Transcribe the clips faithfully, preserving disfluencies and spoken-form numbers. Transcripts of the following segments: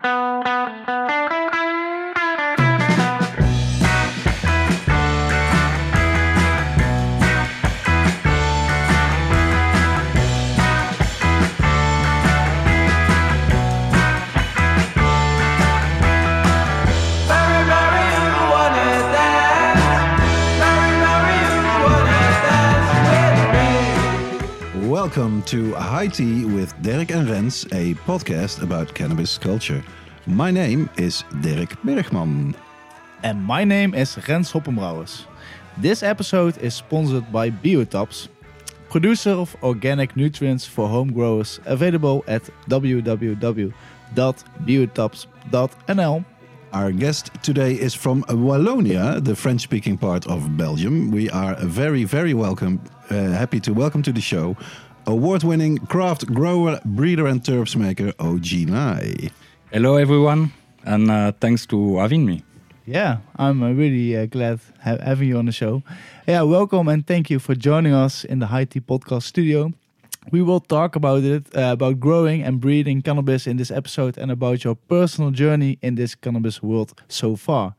Welcome to High Tea with Dirk and Rens, a podcast about cannabis culture. My name is Dirk Bergman. And my name is Rens Hoppenbrouwers. This episode is sponsored by Biotops, producer of organic nutrients for home growers, available at w w w dot biotops dot n l. Our guest today is from Wallonia, the French-speaking part of Belgium. We are very, very welcome, uh, happy to welcome to the show award-winning craft grower, breeder and terps maker Oji Nai. Hello everyone, and uh, thanks to having me. Yeah, I'm uh, really uh, glad ha- having you on the show. Yeah, welcome and thank you for joining us in the High Tea Podcast studio. We will talk about it, uh, about growing and breeding cannabis in this episode and about your personal journey in this cannabis world so far.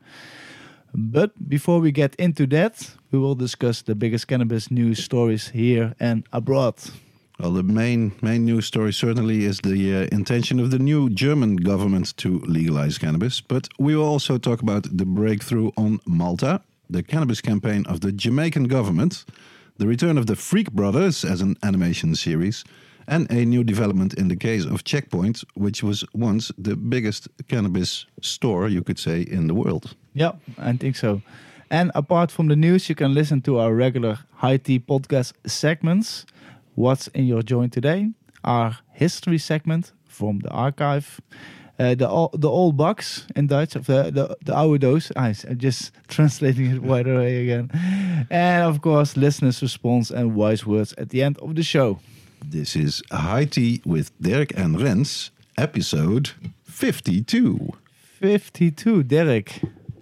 But before we get into that, we will discuss the biggest cannabis news stories here and abroad. Well, the main main news story certainly is the uh, intention of the new German government to legalize cannabis. But we will also talk about the breakthrough on Malta, the cannabis campaign of the Jamaican government, the return of the Freak Brothers as an animation series, and a new development in the case of Checkpoint, which was once the biggest cannabis store, you could say, in the world. Yeah, I think so. And apart from the news, you can listen to our regular High Tea podcast segments. What's in your joint today? Our history segment from the archive. Uh, the the old box in Dutch, of the, the, the oude doos. I, I'm just translating it right away again. And of course, listeners' response and wise words at the end of the show. This is High Tea with Dirk and Rens, episode fifty-two. fifty-two, Dirk.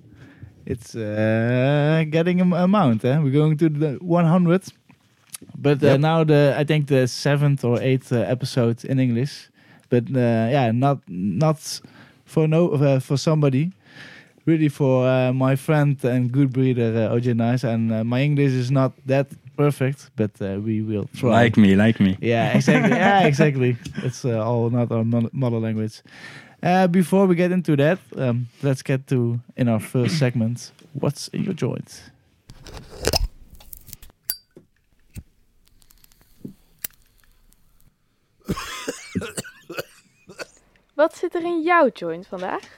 It's uh, getting a amount, eh? We're going to the one hundred. But uh, yep. Now the I think the seventh or eighth uh, episode in English. But uh, yeah, not not for no uh, for somebody, really for uh, my friend and good breeder uh, Oji Nai. And uh, my English is not that perfect, but uh, we will try. Like me, like me. Yeah, exactly. yeah, exactly. It's uh, all not our mother language. Uh, before we get into that, um, let's get to in our first segment. What's in your joint? Wat zit er in jouw joint vandaag?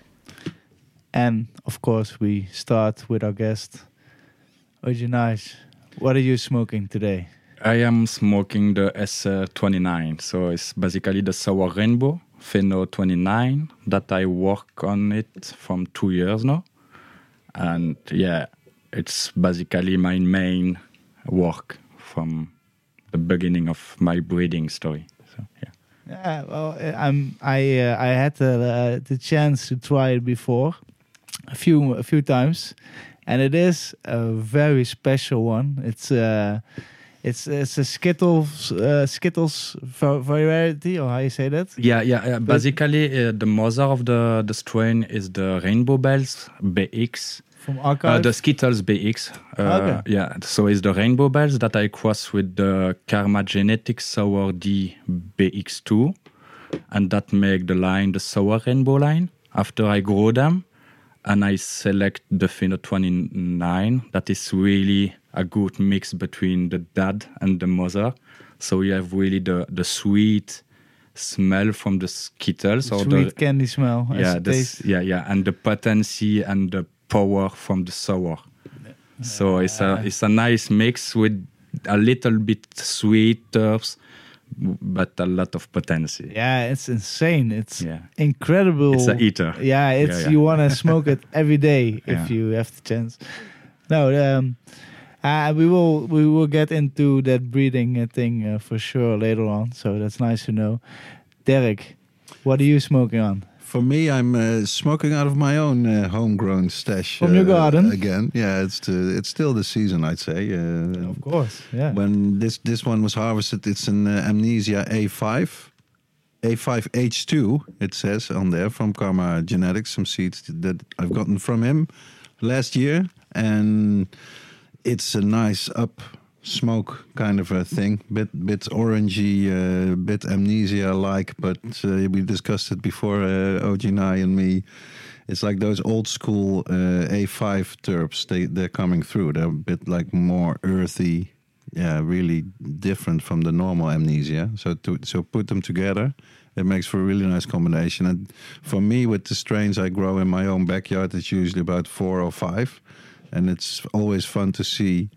And of course we start with our guest, Oji Nai. What are you smoking today? I am smoking the S twenty-nine, so it's basically the Sour Rainbow Pheno twenty-nine that I work on it from two years now. And yeah, it's basically my main work from the beginning of my breeding story. So yeah. Yeah, well, I'm. I uh, I had the uh, the chance to try it before, a few a few times, and it is a very special one. It's uh, it's it's a Skittles uh, Skittles variety, or how you say that? Yeah, yeah. yeah. Basically, uh, the mother of the the strain is the Rainbow Bells B X. From Archive? Uh, the Skittles B X. Uh, okay. Yeah, so it's the Rainbow Bells that I cross with the Karma Genetics Sour D B X two. And that make the line the Sour Rainbow line. After I grow them, and I select the Pheno twenty-nine. That is really a good mix between the dad and the mother. So you have really the, the sweet smell from the Skittles. The or sweet the, candy smell. Yeah, this, yeah, yeah. And the potency and the power from the sour. So it's a it's a nice mix with a little bit sweet herbs, but a lot of potency. Yeah, it's insane. It's yeah. incredible. It's an eater. Yeah, it's yeah, yeah. You want to smoke it every day if yeah. you have the chance. No, um, uh, we will we will get into that breeding uh, thing uh, for sure later on. So that's nice to know. Derek, what are you smoking on? For me, I'm uh, smoking out of my own uh, homegrown stash. From your uh, garden? Again. Yeah, it's to, it's still the season, I'd say. Uh, of course, yeah. When this, this one was harvested, it's an uh, Amnesia A five. A five H two, it says on there, from Karma Genetics, some seeds that I've gotten from him last year. And it's a nice up smoke kind of a thing, bit bit orangey, uh, bit amnesia-like, but uh, we discussed it before, uh, O G and I and me. It's like those old school uh, A five terps, they, they're coming through. They're a bit like more earthy, yeah, really different from the normal amnesia. So to so put them together, it makes for a really nice combination. And for me, with the strains I grow in my own backyard, it's usually about four or five. And it's always fun to see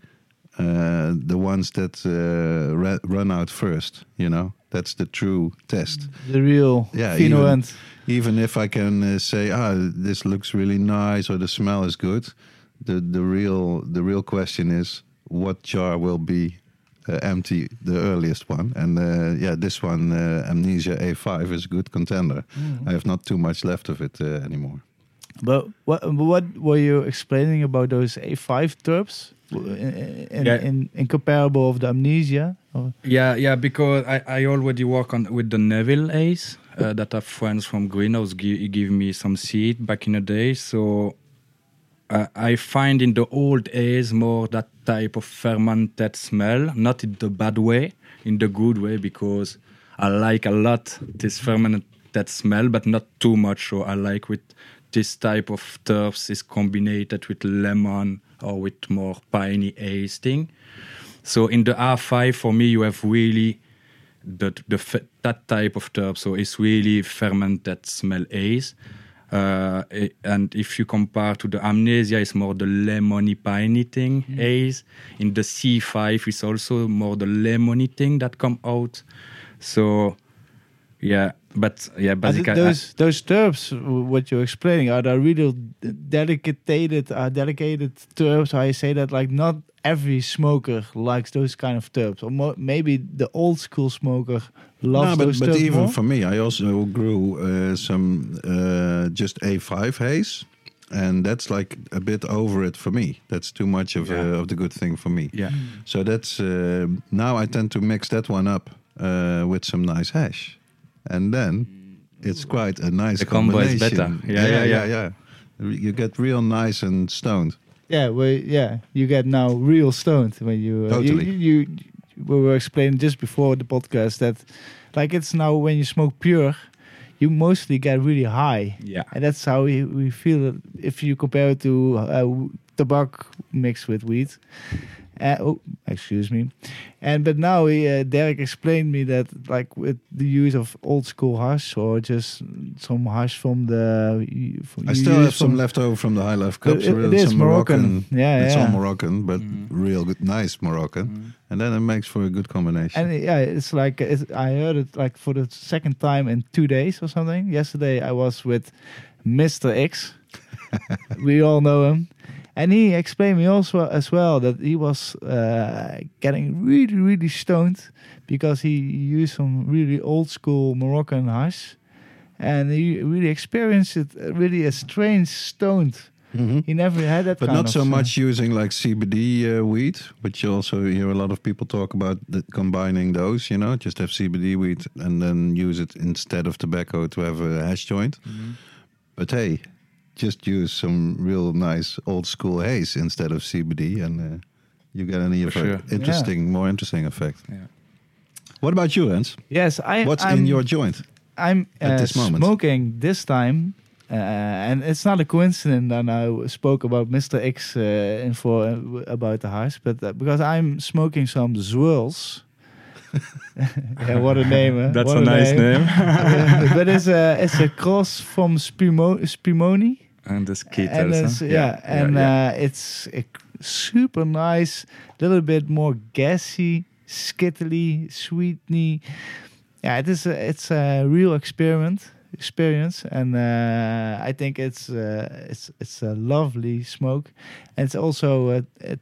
uh, the ones that uh, ra- run out first, you know. That's the true test. The real yeah, Fino even, end. even if I can uh, say, ah, this looks really nice or the smell is good, the the real the real question is, what jar will be uh, empty, the earliest one? And uh, yeah, this one, uh, Amnesia A five, is a good contender. Mm. I have not too much left of it uh, anymore. But what what were you explaining about those A five terps in in, Yeah. in, in comparable of the Amnesia? Or? Yeah, yeah, because I, I already work on with the Neville Ace uh, that are friends from Greenhouse give, give me some seed back in the day. So uh, I find in the old Ace more that type of fermented smell, not in the bad way, in the good way, because I like a lot this fermented smell, but not too much. So I like with this type of terps is combined with lemon or with more piney Ace thing. So in the R five, for me, you have really the, the that type of terp. So it's really fermented smell Ace. Uh, and if you compare to the Amnesia, it's more the lemony piney thing mm. Ace. In the C five, it's also more the lemony thing that come out. So yeah, but yeah, basically those I, those terps, what you're explaining, are the real dedicated, uh, dedicated terps. I say that like not every smoker likes those kind of terps, or mo- maybe the old school smoker loves no, but, those but terps even more. for me, I also grew uh, some uh, just A five haze, and that's like a bit over it for me. That's too much of yeah. uh, of the good thing for me. Yeah. So that's uh, now I tend to mix that one up uh, with some nice hash. And then it's quite a nice the combo combination. is better. Yeah, yeah, yeah, yeah, yeah. You get real nice and stoned. Yeah, well, yeah, you get now real stoned when you uh, Totally. You, you, you we were explaining just before the podcast that, like, it's now when you smoke pure, you mostly get really high. Yeah, and that's how we, we feel if you compare it to uh, tobacco mixed with weed. Uh, oh, excuse me. And but now uh, Derek explained me that like with the use of old school hash or just some hash from the. From I still have some left over from the High Life Cups. It, it is some Moroccan. Moroccan. Yeah, it's yeah. all Moroccan, but Mm. real good, nice Moroccan, Mm. and then it makes for a good combination. And yeah, it's like it's, I heard it like for the second time in two days or something. Yesterday I was with Mister X. We all know him. And he explained me also as well that he was uh, getting really, really stoned because he used some really old school Moroccan hash, and he really experienced it uh, really a strange stoned. Mm-hmm. He never had that, but kind not of so uh, much using like C B D uh, weed, but you also hear a lot of people talk about the, combining those. You know, just have C B D weed and then use it instead of tobacco to have a hash joint. Mm-hmm. But hey, just use some real nice old school haze instead of C B D, and uh, you get an even sure. interesting, Yeah. more interesting effect. Yeah. What about you, Hans? Yes, I. What's I'm, in your joint? I'm at uh, this moment? smoking this time, uh, and it's not a coincidence that I spoke about Mister X uh, info uh, about the hash, but uh, because I'm smoking some Zwirls. Yeah, what a name! Huh? That's What a nice name. Uh, but it's a it's a cross from Spimo- Spimoni. And the skittles. And it's, huh? yeah, yeah, and yeah. Uh, it's a super nice, little bit more gassy, skittly, sweetny. Yeah, it is. A, it's a real experiment experience, and uh, I think it's uh, it's it's a lovely smoke, and it's also uh, it,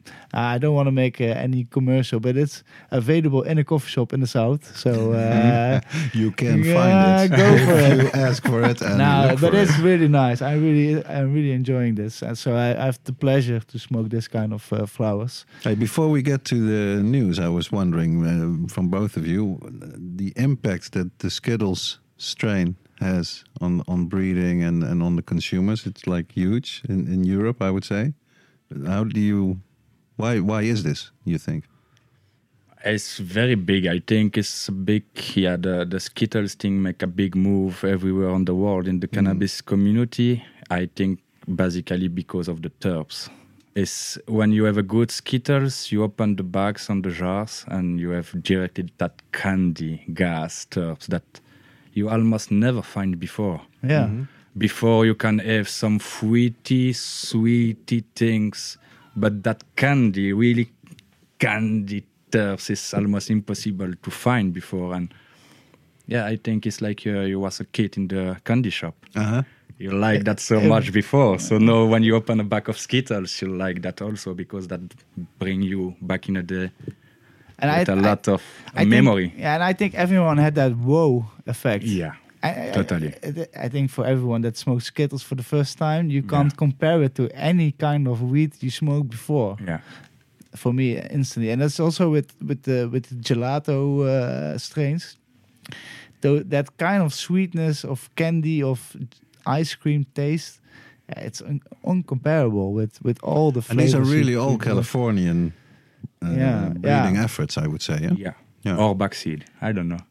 I don't want to make uh, any commercial, but it's available in a coffee shop in the south. So uh, you can yeah, find it. go for if it. you ask for it. And no, look but for it's it. really nice. I really, I'm really enjoying this, and so I, I have the pleasure to smoke this kind of uh, flowers. Hey, before we get to the news, I was wondering uh, from both of you the impact that the Skittles strain has on on breeding and, and on the consumers. It's like huge in, in Europe, I would say. How do you? Why why is this? You think? It's very big. I think it's a big. Yeah, the the Skittles thing make a big move everywhere on the world in the cannabis community. I think basically because of the terps. It's when you have a good Skittles, you open the bags on the jars and you have directly that candy gas terps that you almost never find before. Yeah. Mm-hmm. Before you can have some fruity, sweety things, but that candy, really candy terps is almost impossible to find before. And yeah, I think it's like uh, you was a kid in the candy shop. Uh-huh. You like that so much before. So now when you open a bag of Skittles, you like that also because that bring you back in a day And with I, a lot I, of I memory. Think, yeah, and I think everyone had that whoa effect. Yeah, I, I, totally. I, I think for everyone that smokes Skittles for the first time, you can't yeah. compare it to any kind of weed you smoked before. Yeah. For me, instantly, and that's also with with the with the gelato uh, strains. Though that kind of sweetness of candy of ice cream taste, yeah, it's un- uncomparable with with all the And flavors. these are really you- all you- Californian uh, Yeah, breeding yeah. efforts, I would say. Yeah. Yeah. Yeah. Or backseed. I don't know.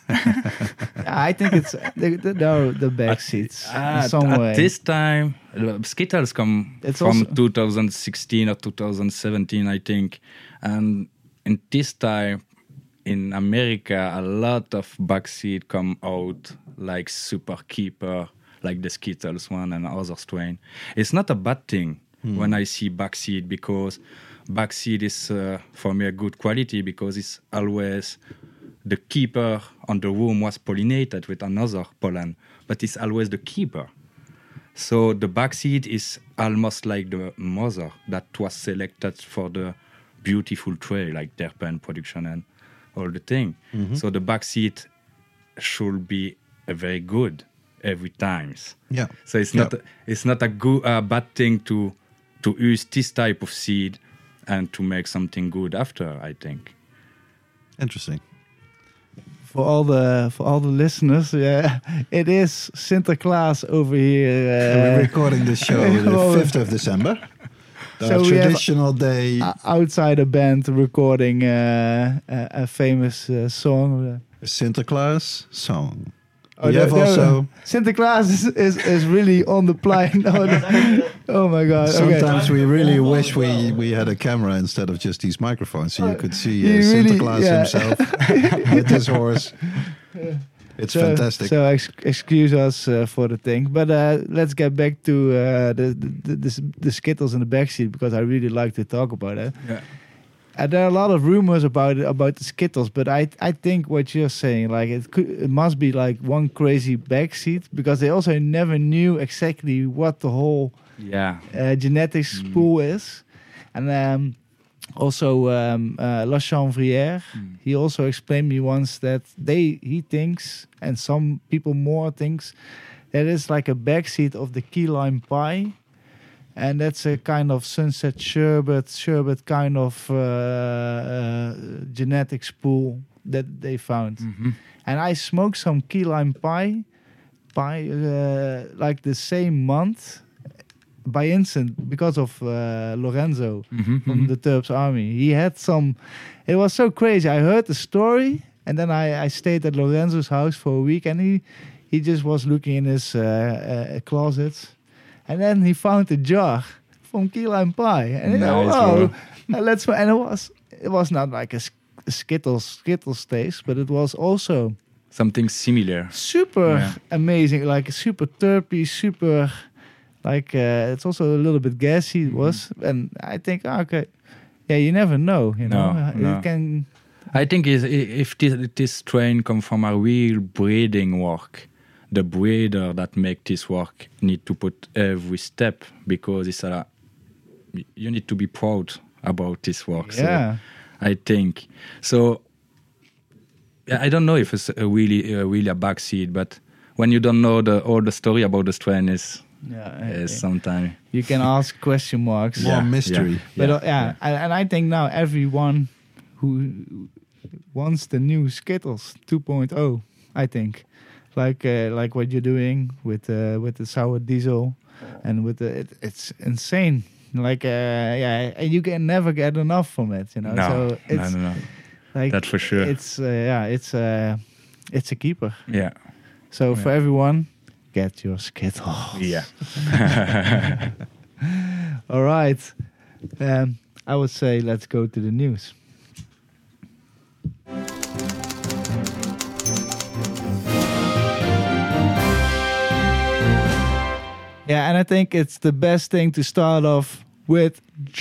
I think it's the the, no, the back seats At, in some at way. this time, uh, Skittles come It's from also- two thousand sixteen or two thousand seventeen, I think. And in this time, in America, a lot of backseed come out, like Super Keeper, like the Skittles one and other strain. It's not a bad thing hmm. when I see backseed, because backseed is, uh, for me, a good quality, because it's always... The keeper on the room was pollinated with another pollen, but it's always the keeper. So the backseed is almost like the mother that was selected for the beautiful tray, like terpene production and all the thing. Mm-hmm. So the backseed should be a very good every time. Yeah. So it's yeah. not a, it's not a good uh, bad thing to to use this type of seed and to make something good after, I think. Interesting. For all the for all the listeners, yeah, it is Sinterklaas over here. Uh, We're recording this show the fifth of December. The So we traditional day. uh, outside a band recording uh, a, a famous uh, song. Sinterklaas song. Oh, we no, have no, also. Sinterklaas is, is, is really on the plane. No, no. Oh my god! Sometimes okay. we really wish we, we had a camera instead of just these microphones, so you could see uh, You really- Sinterklaas yeah. himself with his horse. It's so, fantastic. So ex- excuse us uh, for the thing, but uh, let's get back to uh, the, the, the the Skittles in the backseat, because I really like to talk about it. Yeah. And there are a lot of rumors about it, about the Skittles, but I I think what you're saying, like it could, it must be like one crazy backseat, because they also never knew exactly what the whole Yeah. uh, genetics Mm. pool is, and um, also um, uh, La Chanvrière, Mm. he also explained me once that they he thinks, and some people more thinks, that it's like a backseat of the key lime pie. And that's a kind of sunset sherbet, sherbet kind of uh, uh, genetics pool that they found. Mm-hmm. And I smoked some key lime pie, pie uh, like the same month, by instant, because of uh, Lorenzo Mm-hmm. from the Terps Army. He had some. It was so crazy. I heard the story, and then I, I stayed at Lorenzo's house for a week, and he he just was looking in his uh, uh, closets. And then he found a jar from key lime pie, and he Nice, oh, oh bro. uh, let's. And it was it was not like a, sk- a Skittles Skittles taste, but it was also Something similar. super Yeah. amazing, like super terpy, super like uh, it's also a little bit gassy. It was, and I think oh, okay, yeah, you never know, you know, No, Uh, no. it can. I think is if this, this strain come from a real breeding work, the breeder that make this work need to put every step, because it's a you need to be proud about this work. Yeah. So I think so. Yeah, I don't know if it's a really, uh, really a backseat, but when you don't know the all the story about the strain, is Yeah, is uh, sometimes you can ask question marks. More Yeah, mystery. yeah. But Yeah, uh, yeah, And, and I think now everyone who wants the new Skittles two point oh, I think, like uh, like what you're doing with uh, with the sour diesel, and with the it, it's insane. Like uh, yeah, and you can never get enough from it. You know, No, so no, it's no, no. like That's for sure. It's uh, yeah, it's uh, it's a keeper. Yeah, So for Yeah. everyone, get your Skittles. yeah. All right. Um, I would say let's go to the news. Yeah, and I think it's the best thing to start off with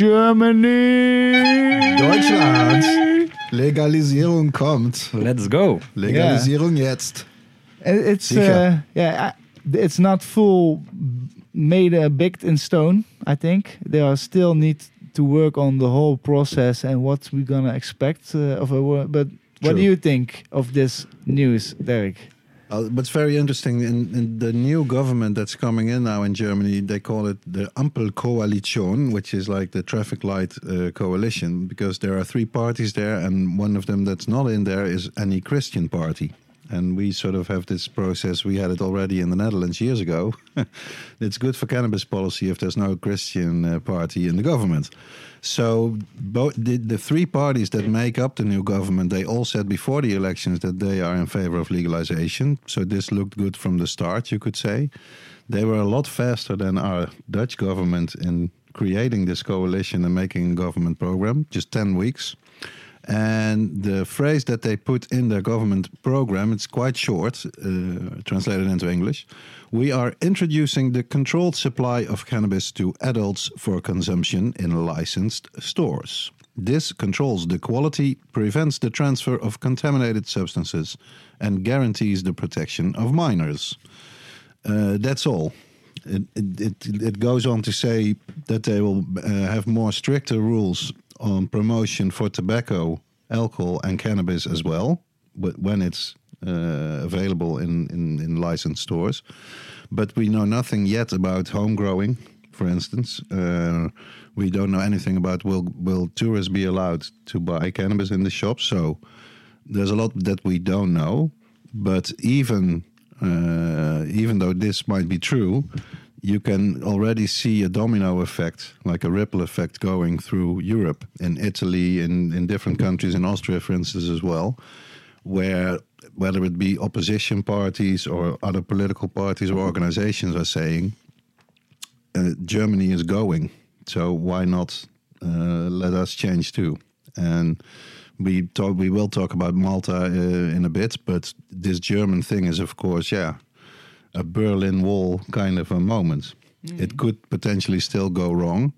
Germany. Deutschland. Legalisierung kommt. Let's go. Legalisierung jetzt. It- It's Sicher. uh, yeah, I- it's not full made uh, baked in stone. I think they are still need to work on the whole process and what we're gonna expect uh, of a. wo- But what True. do you think of this news, Derek? Uh, but it's very interesting. In, in the new government that's coming in now in Germany, they call it the Ampelkoalition, which is like the traffic light uh, coalition, because there are three parties there, and one of them that's not in there is any Christian party. And we sort of have this process. We had it already in the Netherlands years ago. It's good for cannabis policy if there's no Christian uh, party in the government. So both the, the three parties that make up the new government, they all said before the elections that they are in favor of legalization. So this looked good from the start, you could say. They were a lot faster than our Dutch government in creating this coalition and making a government program, just ten weeks. And the phrase that they put in their government program, it's quite short, uh, translated into English. We are introducing the controlled supply of cannabis to adults for consumption in licensed stores. This controls the quality, prevents the transfer of contaminated substances, and guarantees the protection of minors. Uh, that's all. It, it, it, it goes on to say that they will uh, have more stricter rules on promotion for tobacco, alcohol, and cannabis as well, but when it's uh, available in, in, in licensed stores. But we know nothing yet about home growing, for instance. Uh, we don't know anything about will will tourists be allowed to buy cannabis in the shops. So there's a lot that we don't know. But even uh, even though this might be true, you can already see a domino effect, like a ripple effect going through Europe, in Italy, in, in different countries, in Austria, for instance, as well, where whether it be opposition parties or other political parties or organizations are saying, uh, Germany is going, so why not uh, let us change too? And we talk, we will talk about Malta uh, in a bit, but this German thing is, of course, yeah, a Berlin Wall kind of a moment. Mm. It could potentially still go wrong,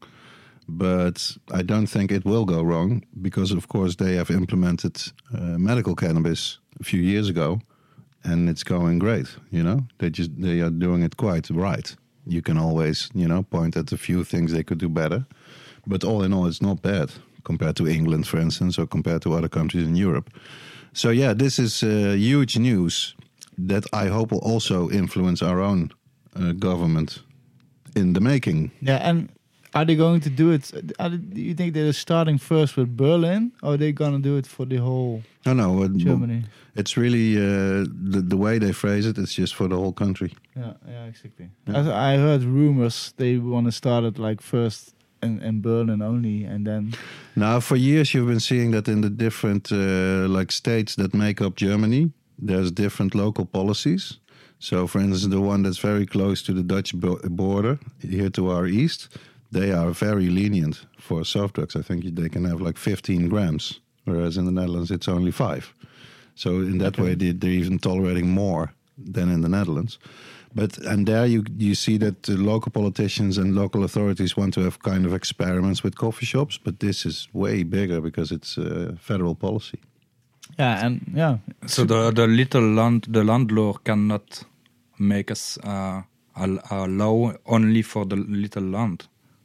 but I don't think it will go wrong because, of course, they have implemented uh, medical cannabis a few years ago, and it's going great. You know, they just they are doing it quite right. You can always, you know, point at a few things they could do better, but all in all, it's not bad compared to England, for instance, or compared to other countries in Europe. So yeah, this is uh, huge news that I hope will also influence our own uh, government in the making. Yeah, and are they going to do it? Are they, do you think they're starting first with Berlin, or are they going to do it for the whole No, no, uh, Germany? It's really uh, the the way they phrase it. It's just for the whole country. Yeah, yeah, exactly. Yeah. I, I heard rumors they want to start it like first in, in Berlin only, and then Now, for years you've been seeing that in the different uh, like states that make up Germany, there's different local policies. So, for instance, the one that's very close to the Dutch bo- border, here to our east, they are very lenient for soft drugs. I think they can have like fifteen grams, whereas in the Netherlands it's only five. So in that Okay. way, they, they're even tolerating more than in the Netherlands. But and there you you see that the local politicians and local authorities want to have kind of experiments with coffee shops, but this is way bigger because it's uh, federal policy. yeah, and yeah. So the the little land the landlord cannot make us uh, a, a law only for the little land.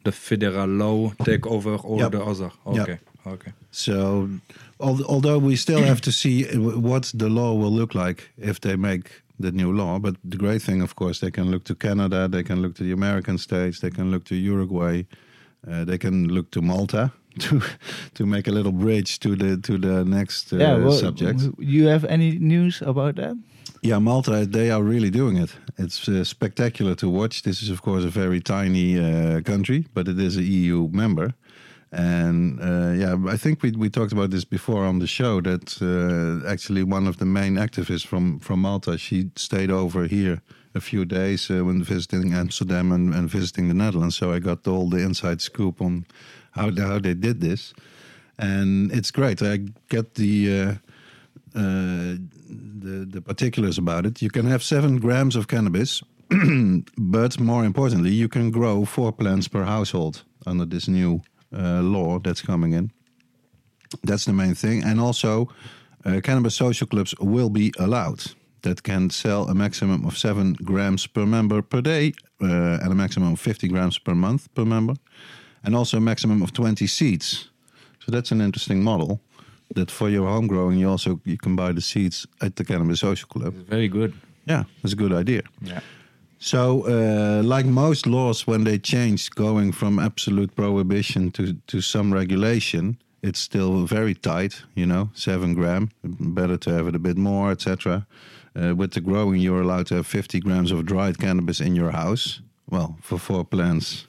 the federal law take over all Yep. the other. Okay, okay. So, al- although we still have to see w- what the law will look like if they make the new law, but the great thing, of course, they can look to Canada, they can look to the American states, they can look to Uruguay, uh, they can look to Malta to to make a little bridge to the to the next uh, yeah, well, subject. w- you have any news about that? Yeah, Malta, they are really doing it. It's uh, spectacular to watch. This is, of course, a very tiny uh, country, but it is an E U member. And uh, yeah, I think we we talked about this before on the show, that uh, actually one of the main activists from, from Malta, she stayed over here a few days uh, when visiting Amsterdam and, and visiting the Netherlands. So I got all the inside scoop on how, the, how they did this. And it's great. I get the... Uh, Uh, the the particulars about it. You can have seven grams of cannabis, but more importantly, you can grow four plants per household under this new uh, law that's coming in. That's the main thing. And also, uh, cannabis social clubs will be allowed that can sell a maximum of seven grams per member per day, uh, and a maximum of fifty grams per month per member, and also a maximum of twenty seeds. So that's an interesting model. That for your home growing, you also you can buy the seeds at the Cannabis Social Club. It's very good. Yeah, that's a good idea. Yeah. So, uh, like most laws, when they change, going from absolute prohibition to, to some regulation, it's still very tight. You know, seven gram. Better to have it a bit more, et cetera. Uh, with the growing, you're allowed to have fifty grams of dried cannabis in your house. Well, for four plants.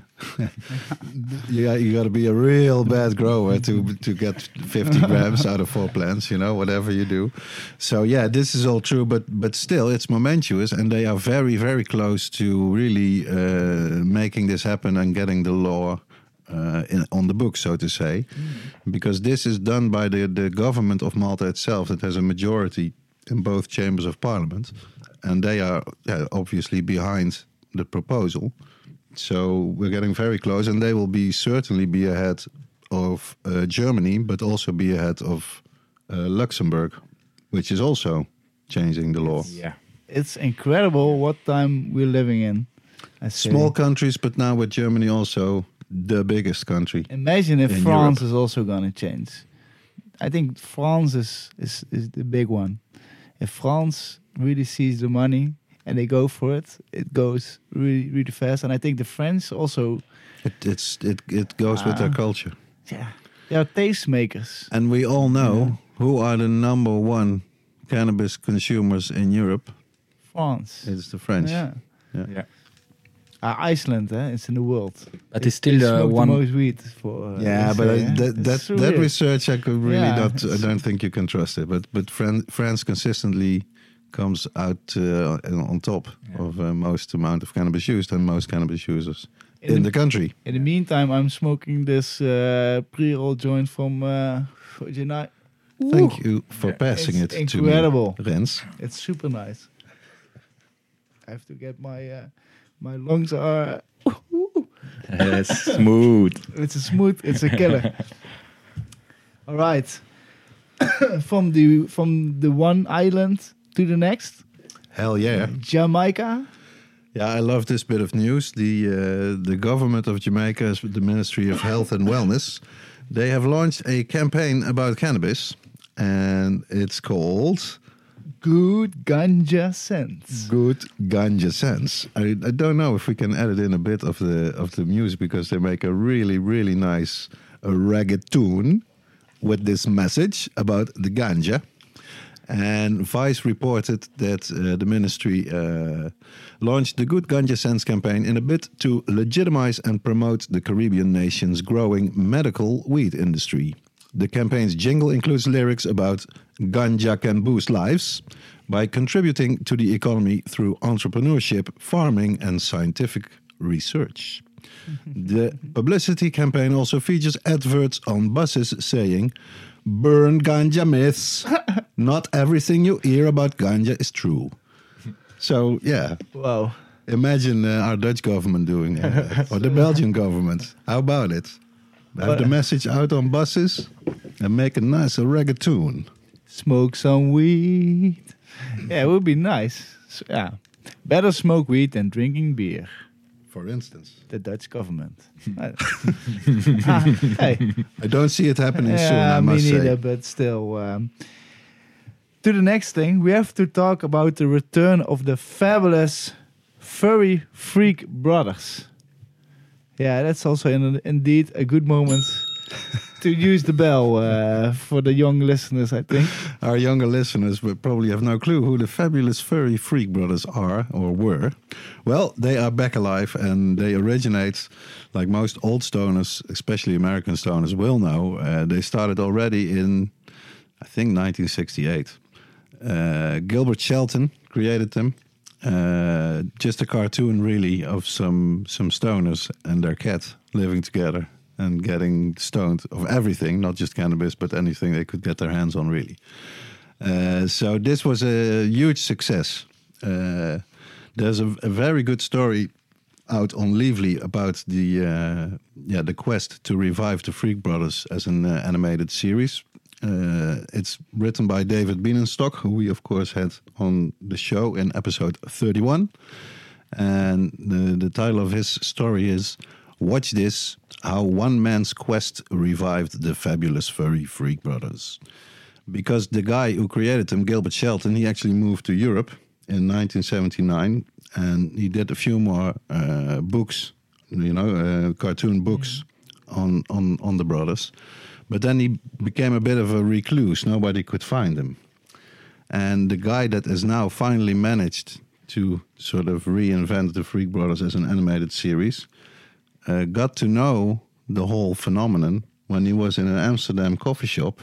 you got, you got to be a real bad grower to to get fifty grams out of four plants, you know, whatever you do. So yeah, this is all true, but but still it's momentous, and they are very very close to really uh, making this happen and getting the law uh, in, on the book, so to say, mm. because this is done by the the government of Malta itself. That has a majority in both chambers of parliament, and they are yeah, obviously behind the proposal. So we're getting very close, and they will be certainly be ahead of uh, Germany, but also be ahead of uh, Luxembourg, which is also changing the law. Yeah. It's incredible what time we're living in. I say. Small countries, but now with Germany also the biggest country. Imagine if in France Europe. is also going to change. I think France is, is, is the big one. If France really sees the money and they go for it, it goes really, really fast. And I think the French also... It, it's, it, it goes uh, with their culture. Yeah, they are tastemakers. And we all know yeah. who are the number one cannabis consumers in Europe. France. It's the French. Yeah. yeah. yeah. Uh, Iceland, eh? It's in the world. But it, it's still uh, one... the most weed for... Uh, yeah, but say, uh, eh? that that, so that weird. research I could really yeah, not... I don't think you can trust it. But but Fran- France consistently comes out uh, on top yeah. of uh, most amount of cannabis used and most cannabis users in, in the, the country. In the meantime, I'm smoking this uh, pre-roll joint from uh, Genai. Thank you for yeah. passing it's it incredible. to me, Rens. It's super nice. I have to get my uh, my lungs are uh, smooth. It's a smooth. It's a killer. All right, from the from the one island to the next. Hell yeah, Jamaica. Yeah, I love this bit of news. The uh, the government of Jamaica, the Ministry of Health and Wellness, they have launched a campaign about cannabis, and it's called Good Ganja Sense. Good Ganja Sense. I, I don't know if we can edit in a bit of the of the music, because they make a really really nice uh, reggaeton with this message about the ganja. And Vice reported that uh, the ministry uh, launched the Good Ganja Sense campaign in a bid to legitimize and promote the Caribbean nation's growing medical weed industry. The campaign's jingle includes lyrics about ganja can boost lives by contributing to the economy through entrepreneurship, farming, and scientific research. The publicity campaign also features adverts on buses saying, "Burn ganja myths. Not everything you hear about ganja is true." So, yeah. Wow. Imagine uh, our Dutch government doing that. Or the Belgian government. How about it? Have but, the message out on buses and make a nice reggaeton. Smoke some weed. Yeah, it would be nice. So, yeah. Better smoke weed than drinking beer. For instance. The Dutch government. ah, hey. I don't see it happening Yeah, soon, I me must neither, say. but still. Um, to the next thing, we have to talk about the return of the fabulous Furry Freak Brothers. Yeah, that's also in, indeed a good moment to use the bell uh, for the young listeners, I think. Our younger listeners will probably have no clue who the fabulous Furry Freak Brothers are or were. Well, they are back alive, and they originate, like most old stoners, especially American stoners will know, uh, they started already in, I think, nineteen sixty-eight. Uh, Gilbert Shelton created them. Uh, just a cartoon, really, of some some stoners and their cat living together and getting stoned of everything, not just cannabis, but anything they could get their hands on, really. Uh, so this was a huge success. Uh, there's a, a very good story out on Leavely about the uh, yeah the quest to revive the Freak Brothers as an uh, animated series. Uh, it's written by David Bienenstock, who we of course had on the show in episode thirty-one. And the, the title of his story is Watch This, How One Man's Quest Revived the Fabulous Furry Freak Brothers. Because the guy who created them, Gilbert Shelton, he actually moved to Europe in nineteen seventy-nine. And he did a few more uh, books, you know, uh, cartoon books mm. on, on, on the brothers. But then he became a bit of a recluse. Nobody could find him. And the guy that has now finally managed to sort of reinvent the Freak Brothers as an animated series uh, got to know the whole phenomenon when he was in an Amsterdam coffee shop.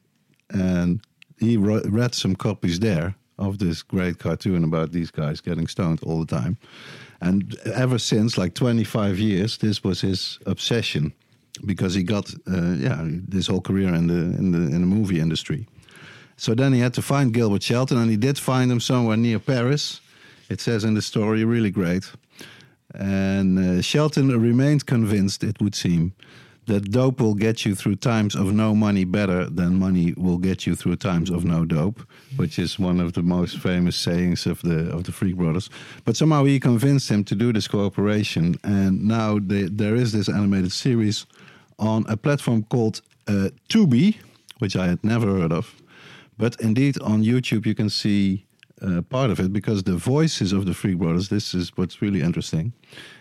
And he ro- read some copies there of this great cartoon about these guys getting stoned all the time. And ever since, like twenty-five years, this was his obsession. Because he got uh, yeah this whole career in the in the in the movie industry, so then he had to find Gilbert Shelton, and he did find him somewhere near Paris. It says in the story, really great. And uh, Shelton remained convinced, it would seem, that dope will get you through times of no money better than money will get you through times of no dope, which is one of the most famous sayings of the of the Freak Brothers. But somehow he convinced him to do this cooperation, and now they, there is this animated series on a platform called uh, Tubi, which I had never heard of. But indeed, on YouTube you can see uh, part of it, because the voices of the Freak Brothers, this is what's really interesting,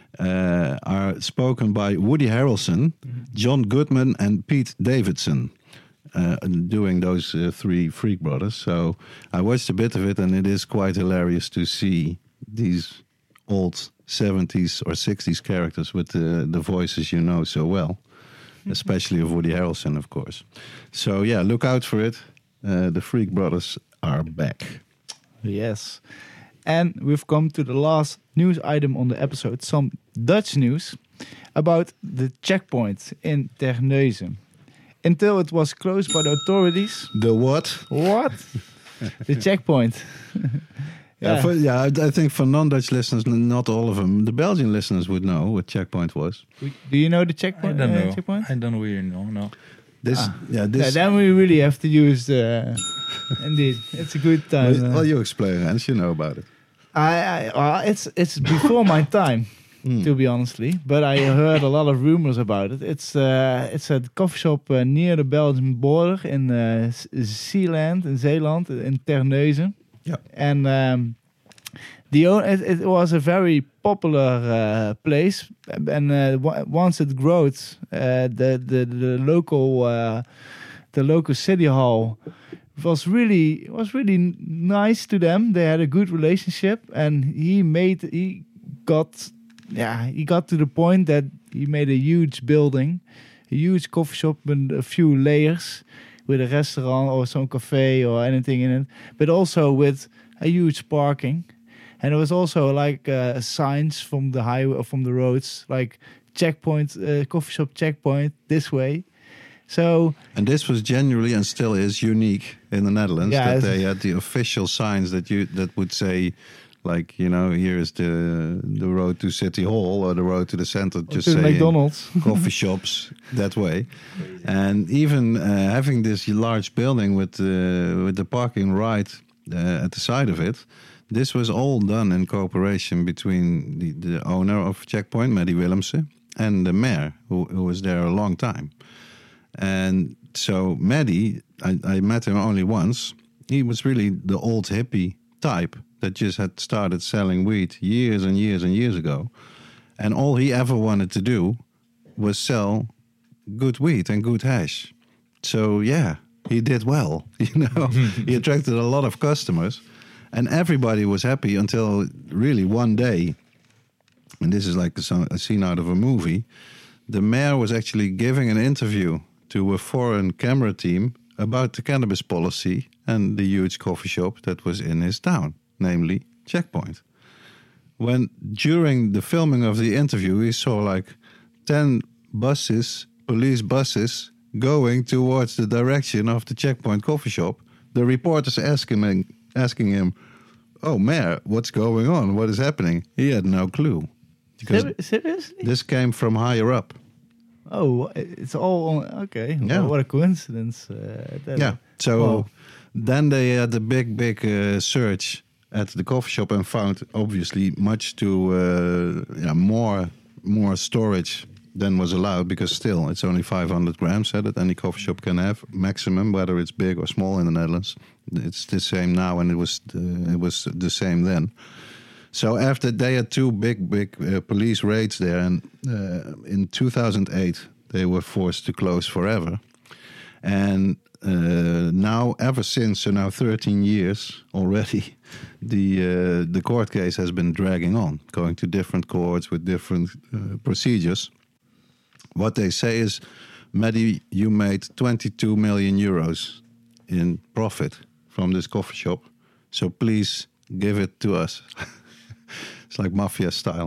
uh, are spoken by Woody Harrelson, mm-hmm. John Goodman, and Pete Davidson, uh, doing those uh, three Freak Brothers. So I watched a bit of it, and it is quite hilarious to see these old seventies or sixties characters with the, the voices you know so well. Especially of Woody Harrelson, of course. So, yeah, look out for it. Uh, the Freak Brothers are back. Yes. And we've come to the last news item on the episode. Some Dutch news about the checkpoint in Terneuzen. Until it was closed by the authorities. The what? What? The checkpoint. Yeah, yeah, for, yeah I, I think for non-Dutch listeners, not all of them, the Belgian listeners would know what checkpoint was. Do you know the checkpoint? I don't know. Uh, checkpoint? I don't really know. No. This, ah. yeah, this. Yeah, then we really have to use the. Indeed, it's a good time. Well, well you explain, Hans. You know about it. I, I uh, it's it's before my time, mm. to be honestly. But I heard a lot of rumors about it. It's uh, it's a coffee shop uh, near the Belgian border in uh, Zeeland, in Zeeland, in Terneuzen. Yeah, and um, the it, it was a very popular uh, place, and uh, w- once it grows, uh, the the the local uh, the local city hall was really was really nice to them. They had a good relationship, and he made he got yeah he got to the point that he made a huge building, a huge coffee shop with a few layers, with a restaurant or some cafe or anything in it, but also with a huge parking. And there was also like uh, signs from the highway or from the roads, like checkpoint, uh, coffee shop checkpoint this way. So and this was genuinely and still is unique in the Netherlands, yeah, that they had the official signs that you that would say, like, you know, here is the the road to City Hall or the road to the center, just to saying McDonald's, coffee shops that way. And even uh, having this large building with uh, with the parking right uh, at the side of it, This was all done in cooperation between the, the owner of Checkpoint, Maddie Willemsen, and the mayor, who, who was there a long time. And so Maddie, I, I met him only once. He was really the old hippie type that just had started selling weed years and years and years ago. And all he ever wanted to do was sell good weed and good hash. So yeah, he did well, you know. He attracted a lot of customers. And everybody was happy until really one day, and this is like a, a scene out of a movie, the mayor was actually giving an interview to a foreign camera team about the cannabis policy and the huge coffee shop that was in his town, namely Checkpoint. When during the filming of the interview, we saw like ten buses, police buses, going towards the direction of the Checkpoint coffee shop. The reporters asking him, asking him, "Oh, Mayor, what's going on? What is happening?" He had no clue. Because Ser- seriously? this came from higher up. Oh, it's all on, okay. Yeah. Well, what a coincidence. Uh, that, Yeah. So Wow. then they had a big, big uh, search at the coffee shop and found obviously much too uh, yeah, more more storage than was allowed, because still it's only five hundred grams uh, that any coffee shop can have maximum, whether it's big or small in the Netherlands. It's the same now, and it was uh, it was the same then. So after they had two big, big uh, police raids there, and uh, in two thousand eight they were forced to close forever. And uh, now, ever since, so now thirteen years already, the uh, the court case has been dragging on, going to different courts with different uh, procedures. What they say is, Maddie, you made twenty-two million euros in profit from this coffee shop, so please give it to us. It's like mafia style.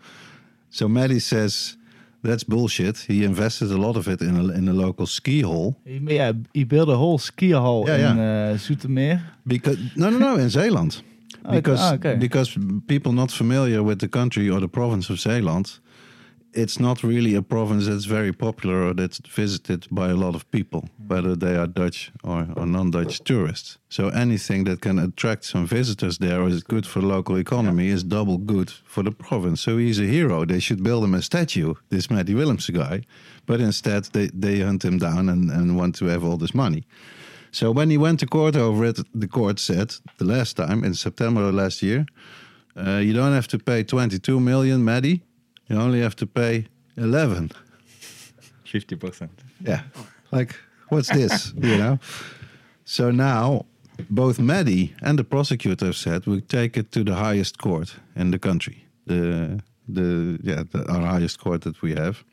So Maddie says, that's bullshit. He invested a lot of it in a, in a local ski hall. He, yeah, he built a whole ski hall Yeah, in uh, Zoetermeer. Because no, no, no, in Zeeland. Oh, Because ah, okay. because people not familiar with the country or the province of Zeeland, it's not really a province that's very popular or that's visited by a lot of people, whether they are Dutch or, or non-Dutch tourists. So anything that can attract some visitors there or is good for the local economy is double good for the province. So he's a hero. They should build him a statue, this Maddie Willemsen guy. But instead they, they hunt him down and, and want to have all this money. So when he went to court over it, the court said the last time in September of last year, uh, you don't have to pay twenty-two million, Maddie. You only have to pay eleven. fifty percent. Yeah. Like, what's this? You know? So now, both Maddie and the prosecutor said we take it to the highest court in the country. The, the yeah, the, our highest court that we have.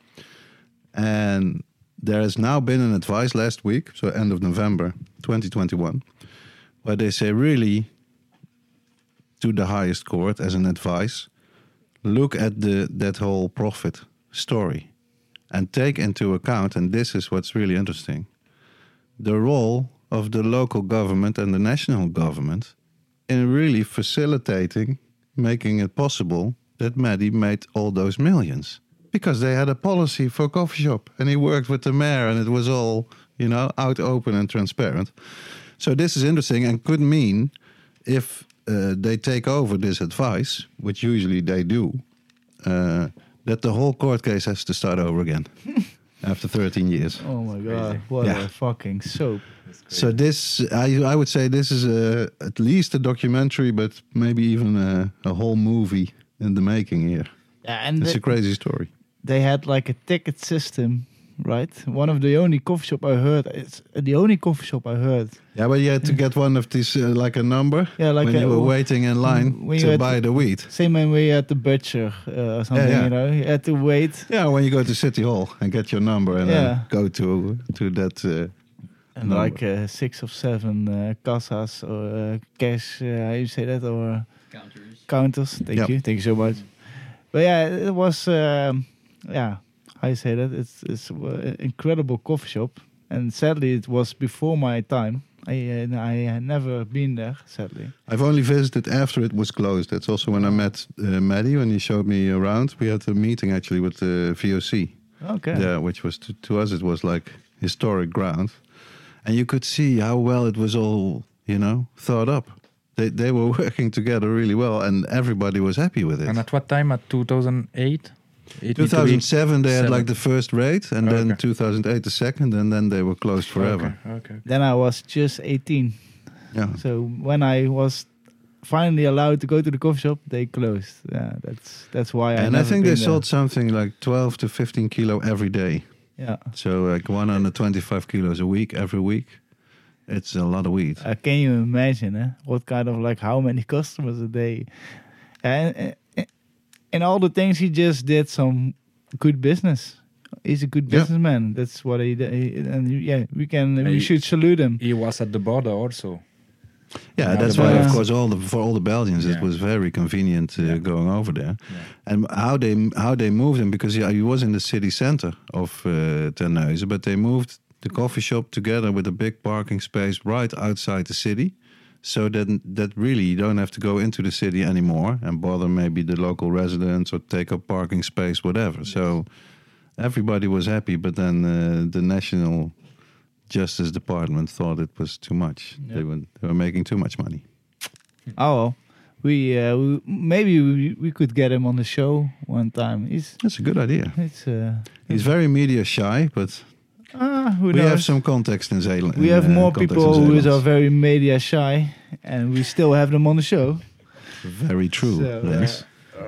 And there has now been an advice last week, so end of November twenty twenty-one, where they say really to the highest court as an advice, look at the that whole profit story and take into account, and this is what's really interesting, the role of the local government and the national government in really facilitating, making it possible that Maddie made all those millions. Because they had a policy for a coffee shop and he worked with the mayor and it was all, you know, out open and transparent. So this is interesting and could mean if uh, they take over this advice, which usually they do, uh, that the whole court case has to start over again after thirteen years. Oh my god, what Yeah. a fucking soap. So this, I, I would say this is a, at least a documentary, but maybe even a, a whole movie in the making here. Yeah, and It's the- a crazy story. they had like a ticket system, right? One of the only coffee shop I heard. It's the only coffee shop I heard. Yeah, but you had to get one of these, uh, like a number, Yeah, like when a- you were waiting in line when you to had buy to- the weed. Same when we had the butcher uh, or something, yeah. you know. You had to wait. Yeah, when you go to City Hall and get your number and Yeah. then go to to that. Uh, And number. like uh, six of seven uh, casas or uh, cash, uh, how you say that, or Counters. counters. Thank Yep. you, thank you so much. But yeah, it was, um, yeah, how you say that? It's it's an incredible coffee shop, and sadly, it was before my time. I uh, I had never been there, sadly. I've only visited after it was closed. That's also when I met uh, Maddie when he showed me around. We had a meeting actually with the V O C. Okay. Yeah, which was to, to us it was like historic ground, and you could see how well it was all, you know, thought up. they they were working together really well, and everybody was happy with it. And at what time? At two thousand eight? two thousand seven, they had seven. like the first raid, and then Okay. two thousand eight the second, and then they were closed forever. Okay, okay. Then I was just eighteen. Yeah. So when I was finally allowed to go to the coffee shop, they closed. Yeah, that's that's why I. And I never think they been sold something like twelve to fifteen kilo every day. there. Yeah. So like one hundred twenty-five kilos a week every week. It's a lot of weed. Uh, can you imagine eh? what kind of like how many customers a day? And uh, in all the things he just did some good business. He's a good Yeah. businessman. That's what he did. He- And yeah, we can we He- should salute him. He was at the border also. Yeah, Yeah, that's the why, of Belgians. course, all the for all the Belgians, it Yeah. was very convenient uh, Yeah. going over there. Yeah. And how they how they moved him, because yeah, he was in the city center of uh, Terneuzen, but they moved the coffee shop together with a big parking space right outside the city, so that that really you don't have to go into the city anymore and bother maybe the local residents or take up parking space, whatever. So everybody was happy, but then uh, the National Justice Department thought it was too much. Yeah. They were they were making too much money. Oh well, we, uh, we maybe we, we could get him on the show one time. He's That's a good idea. it's uh, He's very media shy, but ah, who we knows? have some context in Zeeland. we in, have uh, more context people in who is Zeeland. are very media shy, and we still have them on the show. Very true, So, uh, Lens.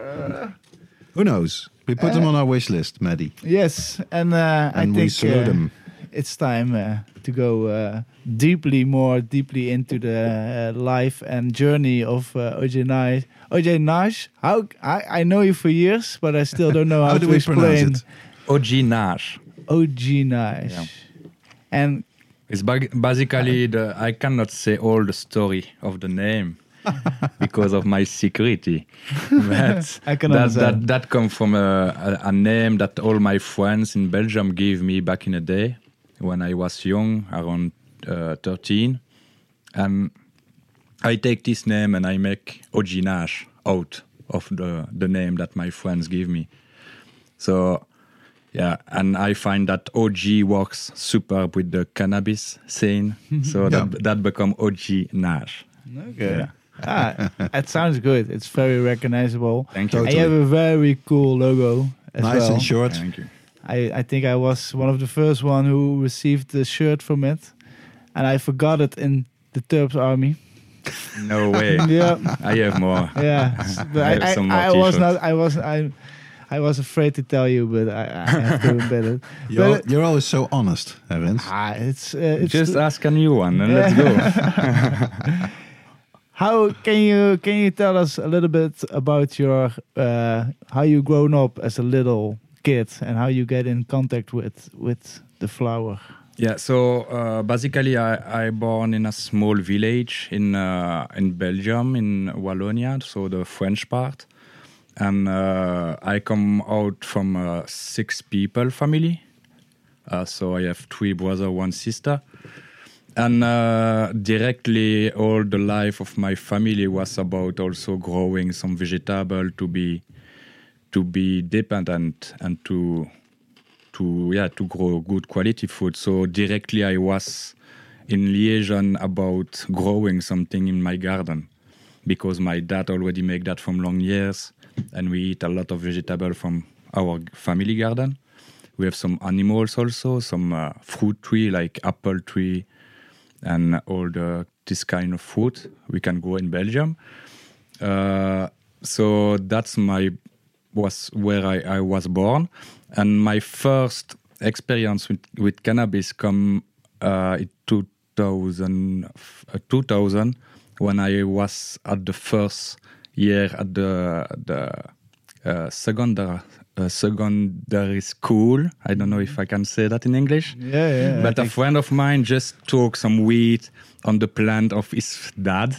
Who knows? We put them on our wish list, Maddie. Yes, and uh, I And we think salute uh, them. it's time uh, to go uh, deeply, more deeply into the uh, life and journey of uh, O J Nash. O J Nash, how I, I know you for years, but I still don't know how, How to do we pronounce explain it? O G Nash. O J Nash. Yeah. And It's ba- basically the I cannot say all the story of the name because of my security. But I can that understand. that that comes from a, a, a name that all my friends in Belgium gave me back in the day when I was young, around uh, thirteen, and I take this name and I make O J Nash out of the the name that my friends give me. So. Yeah, and I find that O G works super with the cannabis scene, so Yeah. that that become O G Nash. okay. Yeah. Ah, that sounds good. It's very recognizable. Thank you. And you have a very cool logo as Nice well. and short. Thank you. I, I think I was one of the first one who received the shirt from it, and I forgot it in the Terps army. No way. Yeah, I have more. yeah. But I I, have I, some more I was t-shirts. not. I was. I. I was afraid to tell you, but I, I have to admit it. You're, But, you're always so honest, hè, Rens? ah, it's, uh, it's Just ask a new one and let's go. How can you can you tell us a little bit about your uh, how you grown up as a little kid and how you get in contact with with the flower? Yeah, so uh, basically I, I born in a small village in uh, in Belgium, in Wallonia, so the French part. And uh, I come out from a six people family. Uh, so I have three brothers, one sister. And uh, directly all the life of my family was about also growing some vegetable to be to be dependent and to to yeah to grow good quality food. So directly I was in liaison about growing something in my garden because my dad already make that from long years. And we eat a lot of vegetable from our family garden. We have some animals also, some uh, fruit tree like apple tree, and all the this kind of fruit we can grow in Belgium. Uh, so that's my was where I, I was born, and my first experience with, with cannabis come uh, in two thousand, uh, two thousand when I was at the first year at the the uh, secondary uh, secondary school. I don't know if I can say that in English. Yeah, yeah. But a friend of mine just took some weed on the plant of his dad,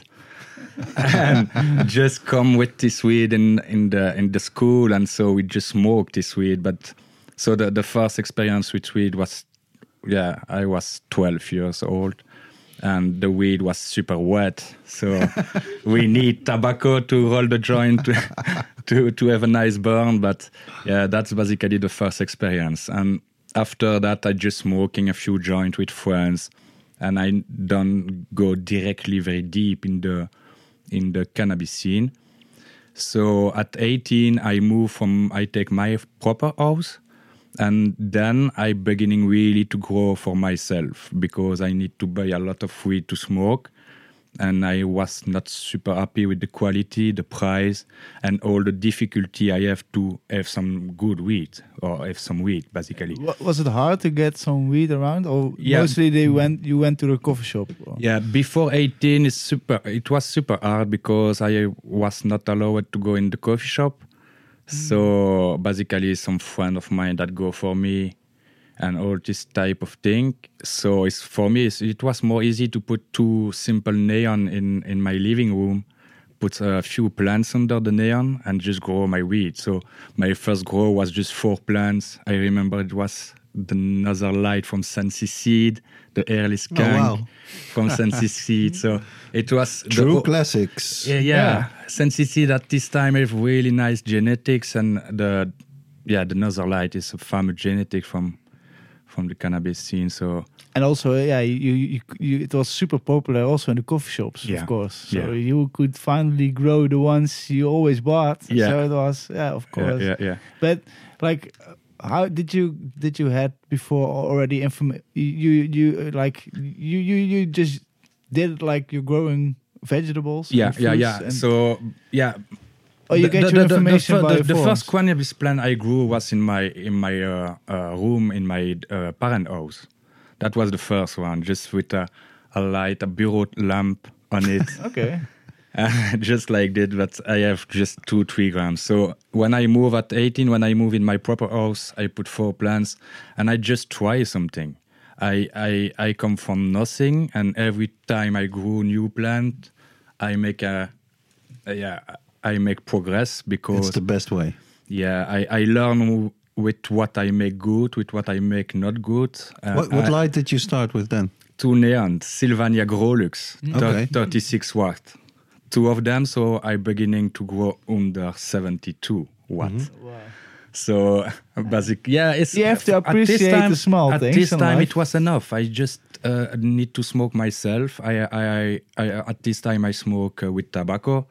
and just come with this weed in in the in the school, and so we just smoked this weed. But so the the first experience with weed was, yeah, I was twelve years old. And the weed was super wet, so we need tobacco to roll the joint to, to to have a nice burn. But yeah, that's basically the first experience. And after that, I just smoking a few joints with friends, and I don't go directly very deep in the in the cannabis scene. So at eighteen, I move from, I take my proper house, and then I beginning really to grow for myself because I need to buy a lot of weed to smoke. And I was not super happy with the quality, the price, and all the difficulty I have to have some good weed or have some weed, basically. Wa- Was it hard to get some weed around, or Yeah. mostly they went? You went to the coffee shop. Or? Yeah, before eighteen, it's super. It was super hard because I was not allowed to go in the coffee shop. So basically, some friend of mine that go for me, and all this type of thing. So it's for me, it's, it was more easy to put two simple neon in in my living room, put a few plants under the neon, and just grow my weed. So my first grow was just four plants. I remember it was the Another Light from Sensi Seed, the Airless Oh, Gang wow. from Sensi Seed. So it was True the, classics. yeah, yeah. Sensi Seed at this time have really nice genetics, and the yeah, the Another Light is a famous genetic from from the cannabis scene. So And also, yeah, you, you, you, it was super popular also in the coffee shops, Yeah. of course. So Yeah. you could finally grow the ones you always bought. Yeah. So it was, yeah, of yeah, course. yeah, yeah. But like, uh, how did you did you had before already inform you you you, uh, like you you you just did it like you're growing vegetables? Yeah, and yeah, fruits yeah. and- So yeah. oh, you The- get the, your the, the, information the, by the, the forums. first cannabis plant I grew was in my in my uh, uh, room in my uh, parent house. That was the first one, just with a, a light, a bureau lamp on it. Okay. Uh, just like that, but I have just two, three grams. So when I move at eighteen, when I move in my proper house, I put four plants and I just try something. I, I, I come from nothing, and every time I grow new plant, I make a, yeah, I make progress because It's the best way. yeah, I, I learn with what I make good, with what I make not good. Uh, What, what I- light did you start with then? two neons, Sylvania Grolux, thir- Okay. thirty-six watt. Two of them, so I beginning to grow under seventy-two watt. Mm-hmm. Wow. So basic, yeah, it's You have to at this appreciate time- the small At things this in time, life. it was enough. I just uh, need to smoke myself. I, I, I, I at this time I smoke uh, with tobacco,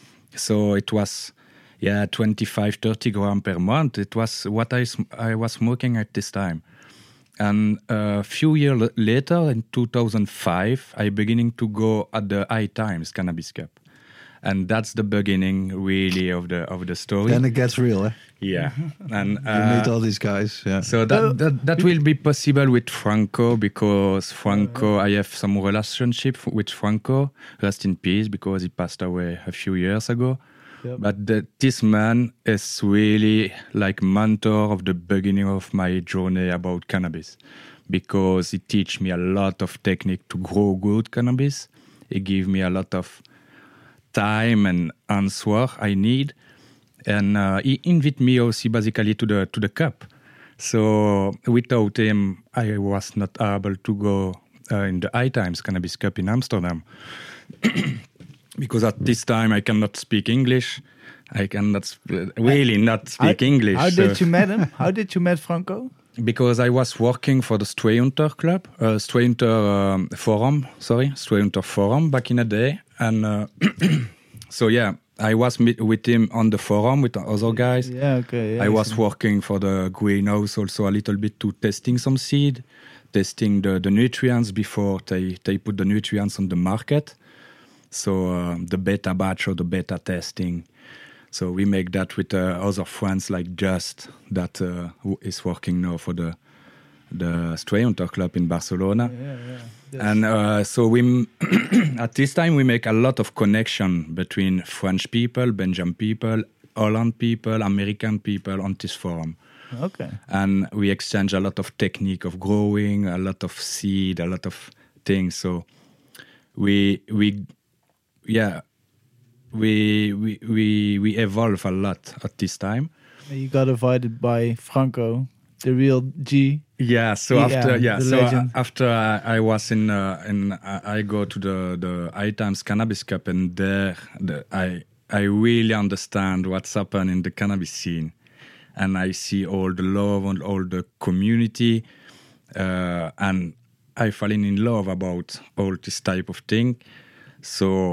so it was. Yeah, twenty-five, thirty grams per month. It was what I, sm- I was smoking at this time. And a few years l- later, in two thousand five, I beginning to go at the High Times Cannabis Cup. And that's the beginning, really, of the of the story. Then it gets real, eh? Yeah. And You uh, meet all these guys. Yeah. so that, that that will be possible with Franco, because Franco, I have some relationship f- with Franco. Rest in peace, because he passed away a few years ago. Yep. But the, this man is really like mentor of the beginning of my journey about cannabis, because he teach me a lot of technique to grow good cannabis. He give me a lot of time and answer I need, and uh, he invite me also basically to the to the cup. So without him, I was not able to go uh, in the High Times Cannabis Cup in Amsterdam. Because at this time I cannot speak English, I cannot sp- really not speak how, English. How so- did you met him? How did you met Franco? Because I was working for the Stray Hunter Club, uh, Stray Hunter um, Forum, sorry, Stray Hunter Forum back in the day, and uh, so yeah, I was meet with him on the forum with the other guys. Yeah, okay. Yeah, I was so- working for the greenhouse also a little bit to testing some seed, testing the, the nutrients before they, they put the nutrients on the market. So uh, the beta batch or the beta testing. So we make that with uh, other friends like Just, that uh, who is working now for the the Stray Hunter Club in Barcelona. Yeah, yeah. Yes. And uh, so we, m- at this time, we make a lot of connection between French people, Belgian people, Holland people, American people on this forum. Okay. And we exchange a lot of technique of growing, a lot of seed, a lot of things. So we we yeah we we we we evolve a lot at this time. You got invited by Franco, the real G. Yeah. So Yeah, after yeah, the so uh, legend. after I, I was in uh, in I I go to the the High Times Cannabis Cup, and there the, I I really understand what's happened in the cannabis scene, and I see all the love and all the community, uh, and I fall in love about all this type of thing. So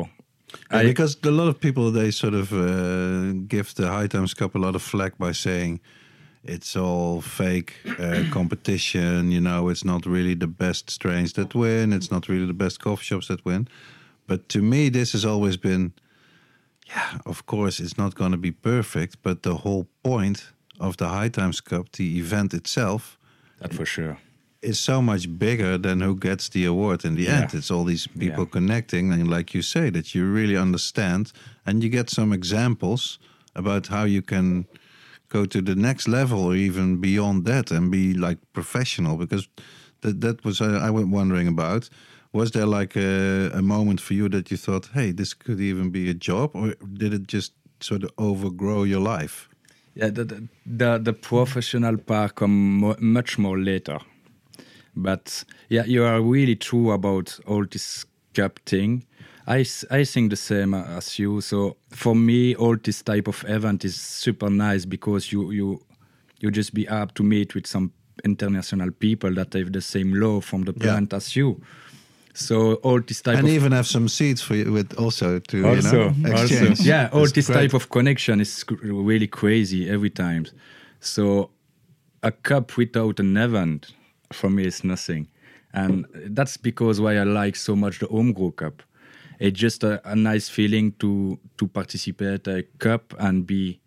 Yeah, I- because a lot of people, they sort of uh, give the High Times Cup a lot of flack by saying it's all fake uh, competition. You know, it's not really the best strains that win. It's not really the best coffee shops that win. But to me, this has always been, yeah, of course, it's not going to be perfect. But the whole point of the High Times Cup, the event itself, That for sure. is so much bigger than who gets the award in the Yeah. end. It's all these people Yeah. connecting, and like you say, that you really understand, and you get some examples about how you can go to the next level or even beyond that and be like professional. Because that that was uh, I was wondering about. Was there like a, a moment for you that you thought, hey, this could even be a job, or did it just sort of overgrow your life? Yeah, the the the, the professional part come mo- much more later. But yeah, you are really true about all this cup thing. I, s- I think the same as you. So for me, all this type of event is super nice because you you you just be up to meet with some international people that have the same love from the Yeah. plant as you. So all this type And of even have some seats for you with also to also, you know, exchange. also. Yeah, all That's this great. type of connection is c- really crazy every time. So a cup without an event for me is nothing, and that's because why I like so much the Homebrew Cup. It's just a, a nice feeling to to participate a cup and be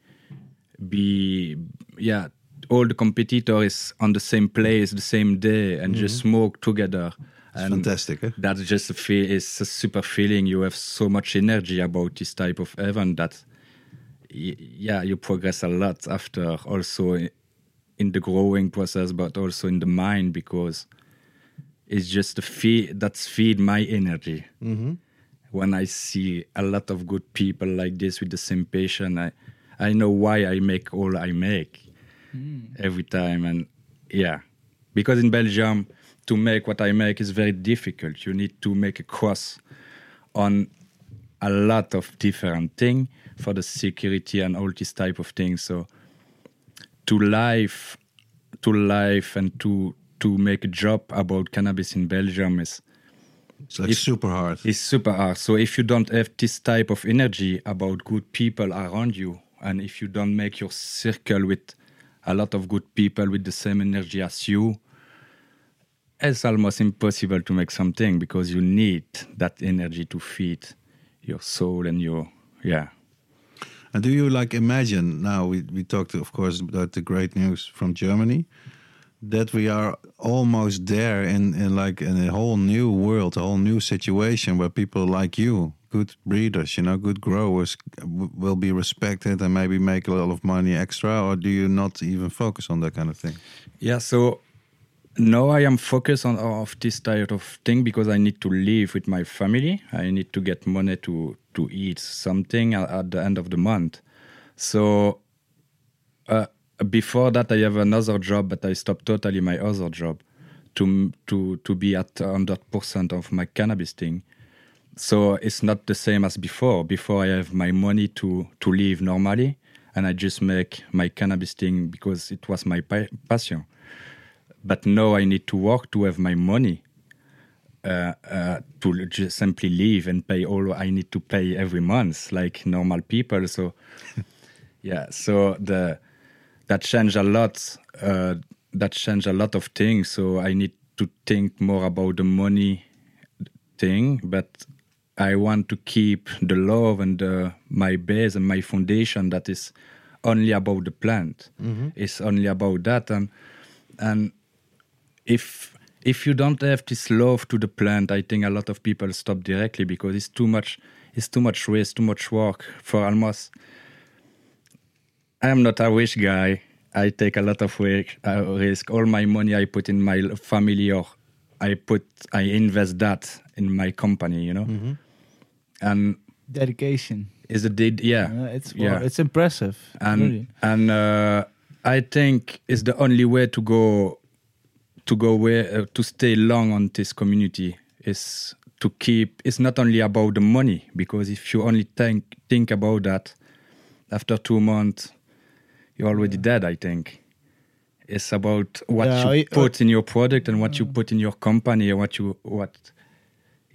be yeah. All the competitors on the same place, the same day, and just smoke together. It's And fantastic. Eh? that's just a feel. It's a super feeling. You have so much energy about this type of event that, y- yeah, you progress a lot after. Also i- in the growing process, but also in the mind because it's just a feed that's feed my energy. When I see a lot of good people like this with the same passion, I I know why I make all I make every time, and yeah, because in Belgium to make what I make is very difficult. You need to make a cross on a lot of different things for the security and all this type of things. So to live, to live and to to make a job about cannabis in Belgium is It's like If- super hard. is super hard. So if you don't have this type of energy about good people around you, and if you don't make your circle with a lot of good people with the same energy as you, it's almost impossible to make something because you need that energy to feed your soul and your yeah. And do you like imagine now? We we talked, of course, about the great news from Germany, that we are almost there in in like in a whole new world, a whole new situation where people like you, good breeders, you know, good growers, w- will be respected and maybe make a lot of money extra. Or do you not even focus on that kind of thing? Yeah, so now I am focused on of this type of thing because I need to live with my family. I need to get money to to eat something at, at the end of the month. So uh, before that, I have another job, but I stopped totally my other job to to to be at one hundred percent of my cannabis thing. So it's not the same as before. Before I have my money to to live normally, and I just make my cannabis thing because it was my pa- passion. But now I need to work to have my money uh, uh, to just simply live and pay all I need to pay every month, like normal people. So yeah, so the that changed a lot. Uh, that changed a lot of things. So I need to think more about the money thing, but I want to keep the love and the, my base and my foundation that is only about the plant. It's only about that, and and if if you don't have this love to the plant, I think a lot of people stop directly because it's too much. It's too much waste, too much work for almost. I am not a rich guy. I take a lot of risk. Uh, risk. All my money I put in my family, or I put, I invest that in my company. You know, and Dedication. is a did yeah, Uh, it's yeah, it's impressive. and really. and uh, I think it's the only way to go to go where uh, to stay long on this community is to keep. It's not only about the money, because if you only think think about that, after two months you're already dead. I think it's about what Yeah, you I- put in your product and what you put in your company, and what you what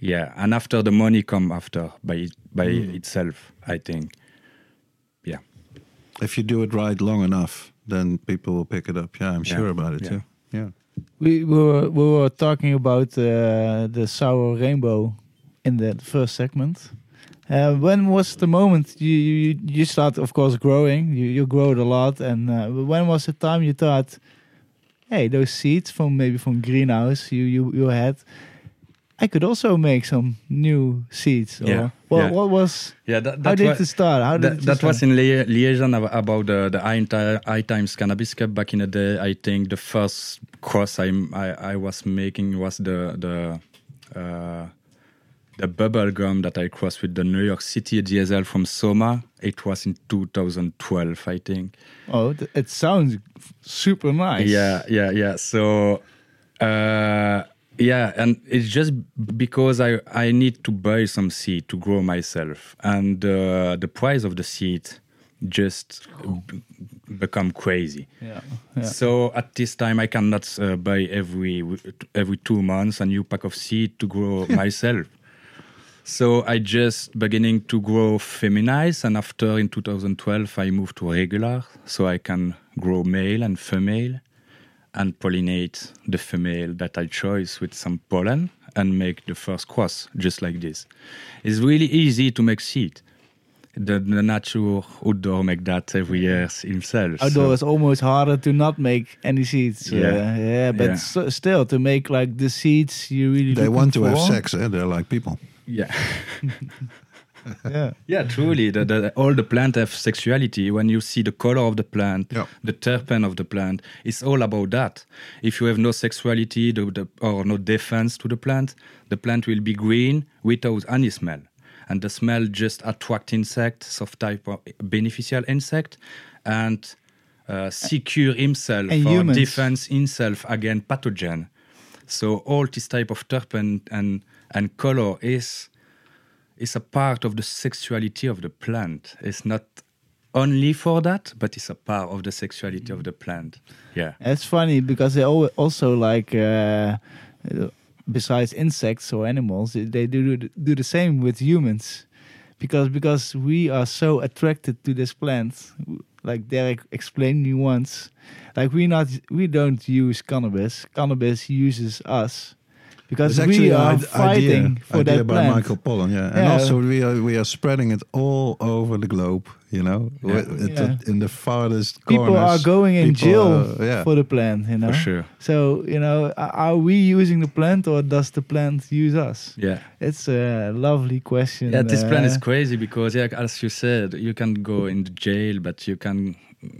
Yeah, and after the money come after by by Mm. itself, I think. Yeah. If you do it right long enough, then people will pick it up. Yeah, I'm Yeah. sure about it Yeah. too. Yeah. We, we were we were talking about uh, the sour rainbow in the first segment. Uh, when was the moment you you, you start, of course, growing? You you growed a lot, and uh, when was the time you thought, hey, those seeds from maybe from greenhouse you you you had, I could also make some new seeds. Or Yeah, what yeah. what was Yeah, that, how that did was, it start? How did that, it that start? was in lia- liaison ab- about the the High, Ti- High Times Cannabis Cup back in the day. I think the first cross I I, I was making was the the uh, the bubble gum that I crossed with the New York City D S L from Soma. It was in two thousand twelve, I think. Oh, th- it sounds super nice. Yeah, yeah, yeah. So, uh, yeah, and it's just because I I need to buy some seed to grow myself, and uh, the price of the seed just b- become crazy. Yeah. Yeah. So at this time, I cannot uh, buy every every two months a new pack of seed to grow myself. So I just beginning to grow feminized, and after in two thousand twelve I moved to regular, so I can grow male and female, and pollinate the female that I choose with some pollen and make the first cross just like this. It's really easy to make seed. The, the nature outdoor make that every year himself. Outdoor so- is almost harder to not make any seeds. Yeah. uh, yeah, but Yeah. s- still to make like the seeds you really. They looking want to have for. sex. Eh? They're like people. yeah. Yeah, Yeah, truly. The, the, all the plant have sexuality. When you see the color of the plant, Yeah. the terpene of the plant, it's all about that. If you have no sexuality the, the, or no defense to the plant, the plant will be green without any smell. And the smell just attract insects of type of beneficial insect and uh, secure himself And or humans. defense himself against pathogen. So all this type of terpene and, and color is is a part of the sexuality of the plant. It's not only for that, but it's a part of the sexuality of the plant. Yeah. it's funny because they al- also like uh, uh, besides insects or animals, they do do the same with humans, because because we are so attracted to this plant. Like Derek explained me once, like we not we don't use cannabis. Cannabis uses us. Because It's we an are id- fighting idea, for idea that by plant. Michael Pollan, yeah, and Yeah. also we are we are spreading it all over the globe. You know, Yeah. It- it- Yeah. in the farthest People corners. are going in people jail are- yeah. for the plant, you know. For sure. So you know, a- are we using the plant or does the plant use us? Yeah. It's a lovely question. Yeah, this plant is uh, crazy because, yeah, as you said, you can go in the jail, but you can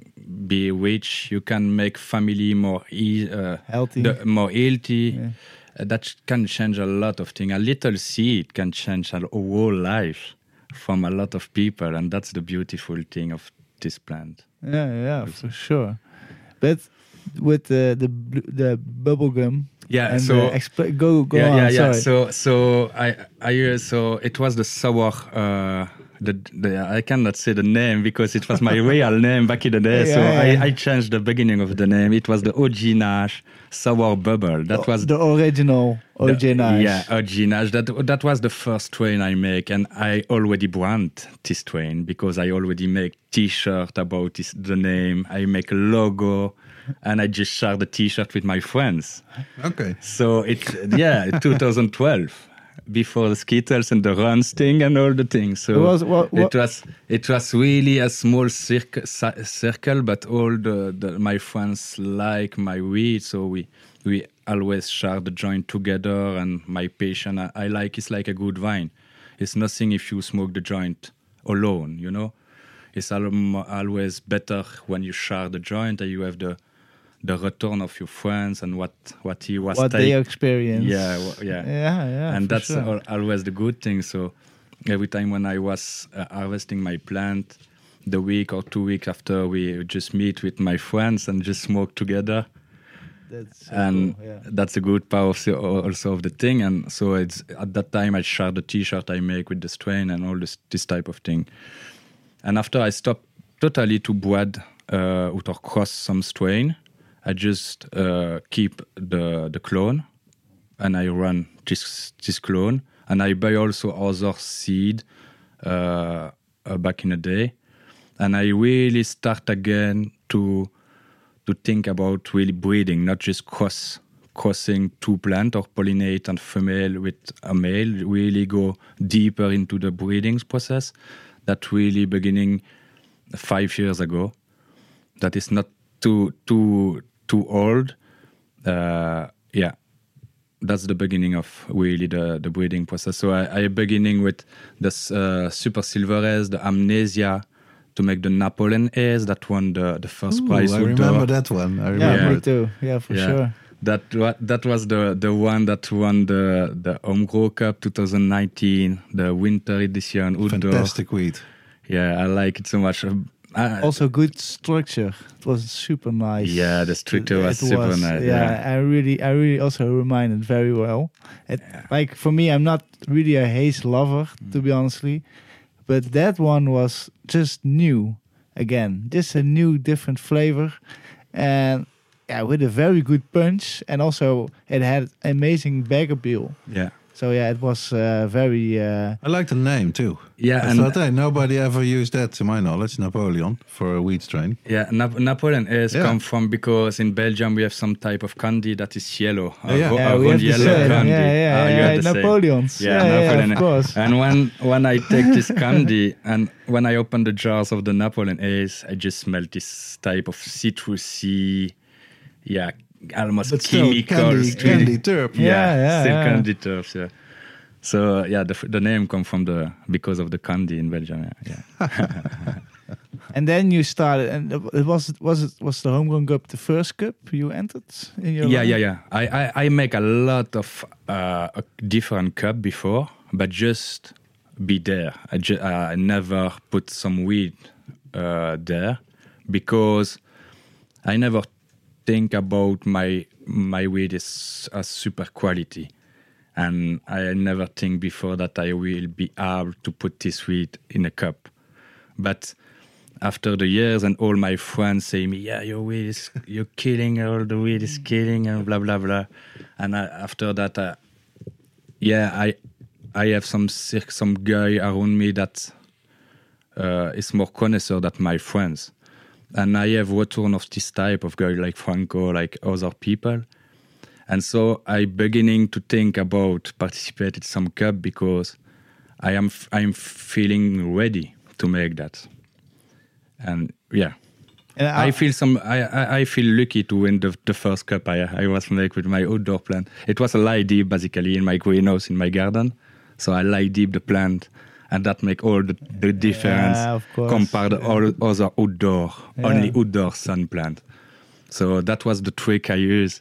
be rich. You can make family more e- uh, healthy. the, more healthy. Yeah. Uh, that can change a lot of things. A little seed can change a whole life from a lot of people, and that's the beautiful thing of this plant. Yeah, yeah, for sure. But with the the bl- the bubble gum. Yeah, and so- uh, expl- go go yeah, on. yeah, yeah. Sorry. So, so I, I, uh, so it was the sour. Uh, the, the I cannot say the name because it was my real name back in the day. Yeah, so yeah, yeah. I, I changed the beginning of the name. It was the O G Nash sour bubble. That was the original O J the- Nash. Yeah, O G Nash. That that was the first strain I make, and I already brand this strain because I already make T-shirt about this, the name. I make a logo, and I just share the T-shirt with my friends. Okay. So it, yeah, twenty twelve, before the Skittles and the Runs thing and all the things. So It was- what- what- it was it was really a small circle, circle, but all the, the my friends like my weed, so we we always share the joint together. And my patient, I, I like it's like a good wine. It's nothing if you smoke the joint alone, you know. It's al- always better when you share the joint and you have the the return of your friends and what what he was What take- they experience. Yeah, wha- yeah, Yeah, yeah. and for that's sure. al- always the good thing. So every time when I was uh, harvesting my plant, the week or two weeks after, we just meet with my friends and just smoke together. That's so And cool, yeah. that's a good part of the, also of the thing. And so it's at that time I share the T-shirt I make with the strain and all this this type of thing. And after I stopped totally to breed uh, or cross some strain, I just uh, keep the the clone, and I run this this clone and I buy also other seed uh, uh, back in the day, and I really start again to to think about really breeding, not just cross crossing two plants or pollinate and female with a male. Really go deeper into the breeding process. That really beginning five years ago. That is not too too too old. Uh, yeah, that's the beginning of really the, the breeding process. So I, I beginning with the uh, Super Silver the Amnesia, to make the Napoleon Ace that won the, the first Ooh, prize. I outdoor. remember that one. I Yeah, remember me it. too. Yeah, for Yeah. sure. That wa- that was the, the one that won the the Omgro Cup twenty nineteen, the winter edition outdoor. Fantastic weed. Yeah, I like it so much. Um, I- Also, good structure. It was super nice. Yeah, the structure was It super was, nice, Yeah, yeah. I really, I really also reminded very well. It, Like for me, I'm not really a haze lover, to be honestly, but that one was just new again, just a new, different flavor, and yeah, with a very good punch, and also it had amazing bag appeal. yeah. So yeah, it was uh, very. Uh, I like the name too. Yeah, I and thought, hey, nobody ever used that, to my knowledge, Napoleon, for a weed strain. yeah, Nap- Napoleon Ace Yeah. come from because in Belgium we have some type of candy that is yellow. Oh, yeah. ro- yeah, a we round have the yellow same. candy. Yeah, yeah, Ah, you yeah, have the same. Napoleons. Yeah, Yeah, yeah, Napoleon. of course. And when when I take this candy and when I open the jars of the Napoleon Ace, I just smell this type of citrusy, yeah, almost But still, chemicals. candy, candy terp. Yeah, Yeah, yeah, still yeah. candy turfs. Yeah. So yeah, the the name come from the because of the candy in Belgium. Yeah. yeah. And then you started, and it was was it was the homegrown cup the first cup you entered in your Yeah, life? yeah, yeah. I, I, I make a lot of uh, a different cup before, but just be there. I, ju- I never put some weed uh, there because I never think about my my weed is a super quality, and I never think before that I will be able to put this weed in a cup, but after the years and all my friends say me, yeah, your weed is, you're killing, all the weed is killing and blah, blah, blah. And I, after that, uh, yeah, I I have some cir- some guy around me that uh, is more connoisseur than my friends. And I have return of this type of guy like Franco, like other people. And so I beginning to think about participate in some cup because I am f- I'm feeling ready to make that. And yeah, And I feel some. I, I, I feel lucky to win the, the first cup I I was make with my outdoor plant. It was a lie deep basically in my greenhouse in my garden, so I lie deep the plant, and that make all the, the difference Yeah, of course. compared to all other outdoor Yeah. only outdoor sun plant. So that was the trick I used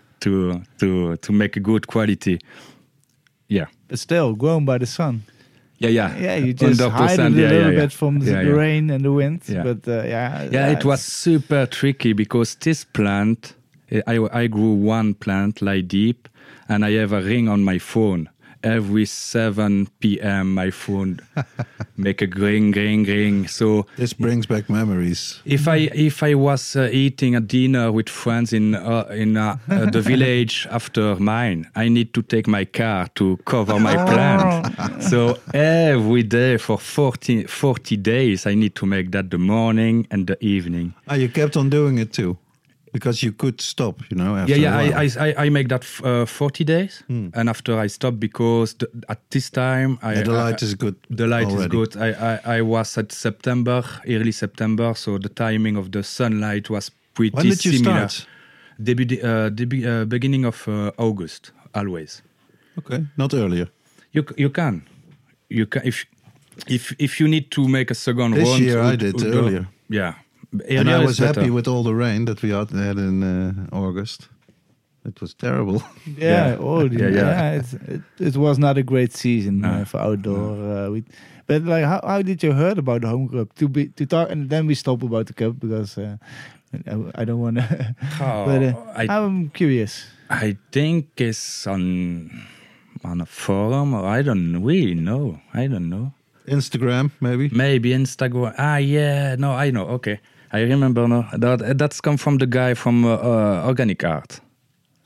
to to to make a good quality. Yeah. But still, grown by the sun. Yeah, yeah. Yeah, you just one hundred hide it a percent, yeah, little yeah, yeah. bit from the, Yeah, the yeah. rain and the wind. Yeah. But uh, yeah, Yeah, it it's- was super tricky because this plant, I, I grew one plant lie deep, and I have a ring on my phone. Every seven p.m. my phone make a ring, ring, ring. So This brings back memories. if I if I was uh, eating a dinner with friends in uh, in uh, uh, the village after mine, I need to take my car to cover my plant. So every day for forty, forty days, I need to make that the morning and the evening. Ah, you kept on doing it too, because you could stop, you know. After Yeah, a yeah, while. I, I, I make that f- uh, forty days, and after I stop because the, at this time I, Yeah, the light I- is good The light is already. good. I, I, I was at September, early September, so the timing of the sunlight was pretty When did you similar. start? Debut, uh, debu- uh, beginning of uh, August, always. Okay, not earlier. You c- you can, you can if if if you need to make a second This round. year I would- did would go- earlier. Yeah, And earlier I is was better. happy with all the rain that we had had in uh, August. It was terrible. Yeah, Yeah. oh, Yeah, yeah, yeah. It's, it, it was not a great season No. uh, for outdoor. Uh, we, but like, how, how did you heard about the home cup? To be to talk, and then we stop about the cup because uh, I, I don't want to. Oh, but uh, I- I'm curious. I think it's on on a forum, or I don't really know. I don't know. Instagram, maybe. Maybe Instagram. Ah, yeah. No, I know. Okay, I remember now. That that's come from the guy from uh, uh, Organic Art.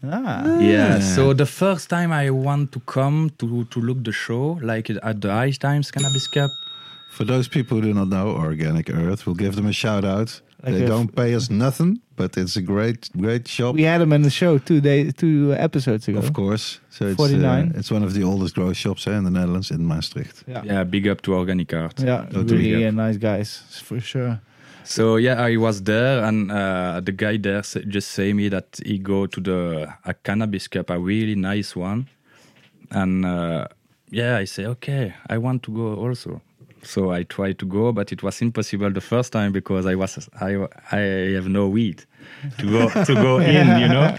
Ah. Yeah. So the first time I want to come to to look the show, like at the Ice Times Cannabis Cup. For those people who do not know Organic Earth, we'll give them a shout out. Like they a don't f- pay us nothing, but it's a great, great shop. We had them in the show two days, two episodes ago. Of course. So it's, forty-nine. Uh, it's one of the oldest grow shops eh, in the Netherlands, in Maastricht. Yeah, Yeah. Big up to Organic Art. yeah, Totally. really uh, nice guys for sure. So yeah, I was there, and uh, the guy there s- just say me that he go to the a cannabis cup, a really nice one, and uh, yeah, I say okay, I want to go also. So I tried to go, but it was impossible the first time because I was I I have no weed to go to go in, you know.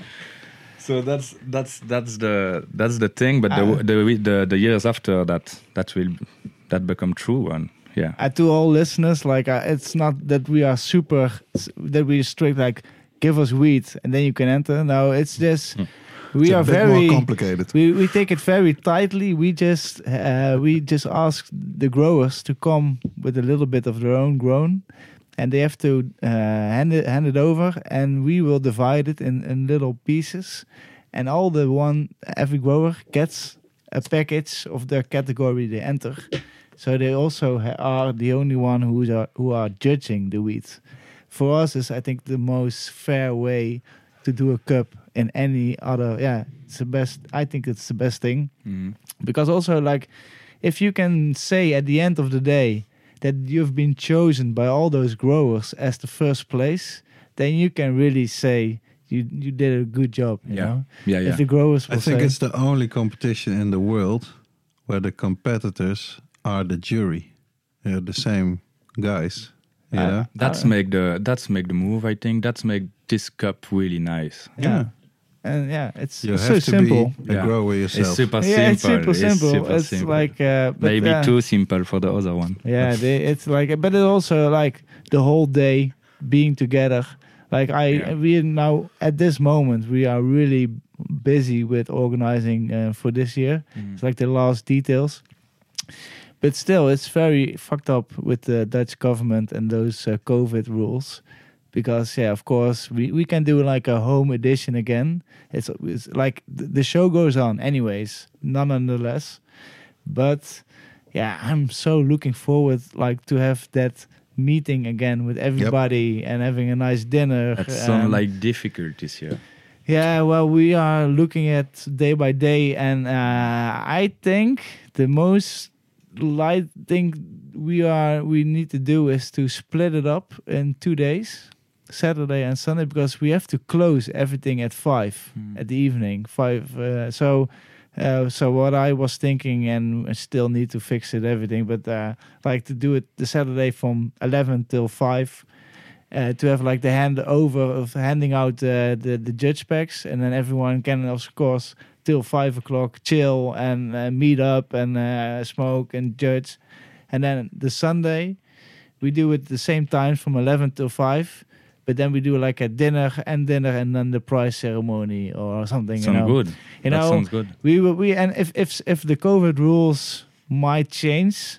So that's that's that's the that's the thing. But Ah. the, the the the years after that that will that become true, and yeah. Uh, to all listeners, like uh, it's not that we are super, that we strict. Like, give us weed and then you can enter. No, it's just we It's a are bit very more complicated. We we take it very tightly. We just uh, we just ask the growers to come with a little bit of their own grown, and they have to uh, hand it hand it over, and we will divide it in, in little pieces, and all the one every grower gets a package of their category they enter. So they also ha- are the only one who are who are judging the weeds. For us, is I think the most fair way to do a cup in any other. Yeah, it's the best. I think it's the best thing Mm. because also like if you can say at the end of the day that you've been chosen by all those growers as the first place, then you can really say you you did a good job. You Yeah. know, Yeah, yeah. if the growers I will think say, it's the only competition in the world where the competitors are the jury. They're the same guys. You Uh, know? That's Uh, make the that's make the move. I think that's make this cup really nice. yeah. And yeah, it's You so have to simple. be a Yeah. grower yourself. It's super Yeah, simple. it's super simple. super It's simple. like uh, but, maybe uh, too simple for the other one. Yeah, they, it's like, but it also like the whole day being together. Like I, Yeah. we now at this moment we are really busy with organizing uh, for this year. Mm. It's like the last details, but still, it's very fucked up with the Dutch government and those uh, COVID rules. Because yeah, of course we, we can do like a home edition again. It's, it's like th- the show goes on anyways, nonetheless. But yeah, I'm so looking forward like to have that meeting again with everybody and having a nice dinner. That um, sounds like difficult this year. yeah, well, we are looking at day by day, and uh, I think the most light thing we are we need to do is to split it up in two days, Saturday and Sunday, because we have to close everything at five Hmm. at the evening. Five. Uh, so, uh, so what I was thinking, and I still need to fix it everything, but uh, like to do it the Saturday from eleven till five. Uh, to have like the handover of handing out uh, the the judge packs, and then everyone can of course till five o'clock chill and uh, meet up and uh, smoke and judge, and then the Sunday we do it the same time from eleven till five, but then we do like a dinner and dinner and then the prize ceremony or something. Sounds you know, good. you that know sounds good. we will we and if if if the COVID rules might change.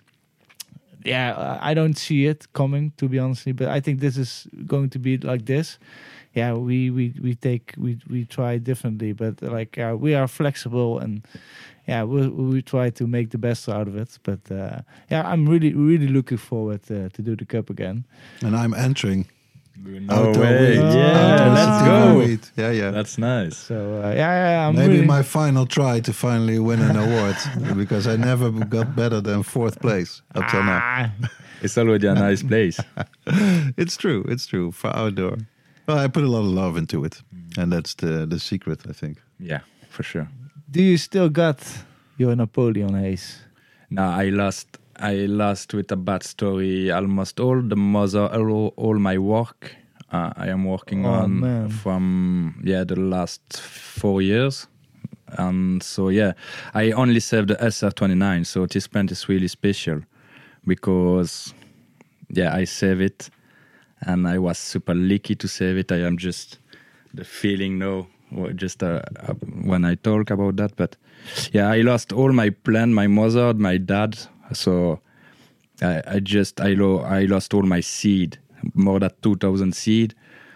Yeah, uh, I don't see it coming, to be honest. But I think this is going to be like this. Yeah, we we, we take we we try differently, but like uh, we are flexible and yeah, we we try to make the best out of it. But uh, yeah, I'm really really looking forward uh, to do the cup again. And I'm entering. No Outdoor way. weed. Yeah, Outdoor let's sativa go. weed. Yeah, yeah. That's nice. So uh, yeah, yeah, I'm Maybe really, my final try to finally win an award because I never got better than fourth place up till now. ah, It's already a nice place. It's true. It's true for outdoor. Well, I put a lot of love into it, and that's the the secret, I think. Yeah, for sure. do you still got your Napoleon Haze? No, I lost. I lost with a bad story. Almost all the mother, all, all my work. Uh, I am working Oh, on man. from yeah the last four years, and so yeah, I only saved the S R twenty-nine. So this plant is really special because yeah, I save it, and I was super lucky to save it. I am just the feeling now, or just uh, uh, when I talk about that, but yeah, I lost all my plant, my mother, my dad. So I, I just I, lo- I lost all my seed, more than two thousand seed.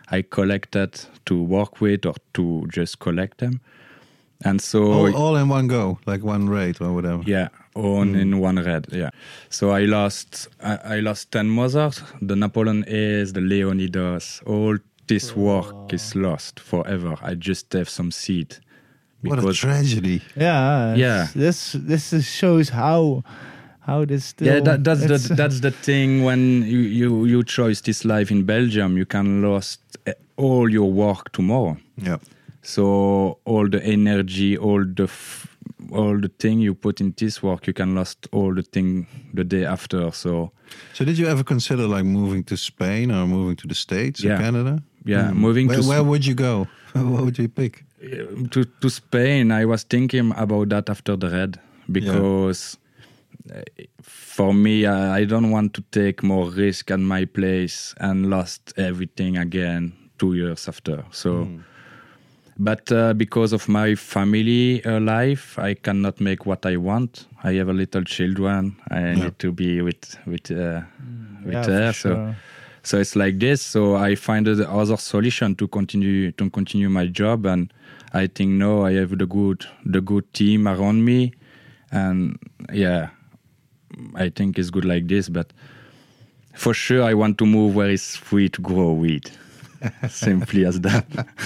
I collected to work with or to just collect them. And so all, all in one go, like one raid or whatever. Yeah, on mm. in one raid. Yeah. So I lost I, I lost ten mothers, the Napoleon A's, the Leonidas. All this work oh. is lost forever. I just have some seed. What a tragedy! Yeah, yeah. This this is shows how how this. Still, yeah, that, that's the that's the thing when you, you you choose this life in Belgium, you can lose all your work tomorrow. Yeah. So all the energy, all the f- all the thing you put in this work, you can lose all the thing the day after. So. So did you ever consider like moving to Spain or moving to the States yeah. or Canada? Yeah, mm. moving where, to. Where would you go? What would you pick? To to Spain, I was thinking about that after the raid because yeah. for me, I, I don't want to take more risk at my place and lost everything again two years after. So, mm. but uh, because of my family uh, life, I cannot make what I want. I have a little children. I yeah. need to be with with uh, mm. with yeah, her. Sure. So. So it's like this. So I find the other solution to continue to continue my job, and I think no, I have the good the good team around me, and yeah, I think it's good like this. But for sure, I want to move where it's free to grow weed. Simply as that.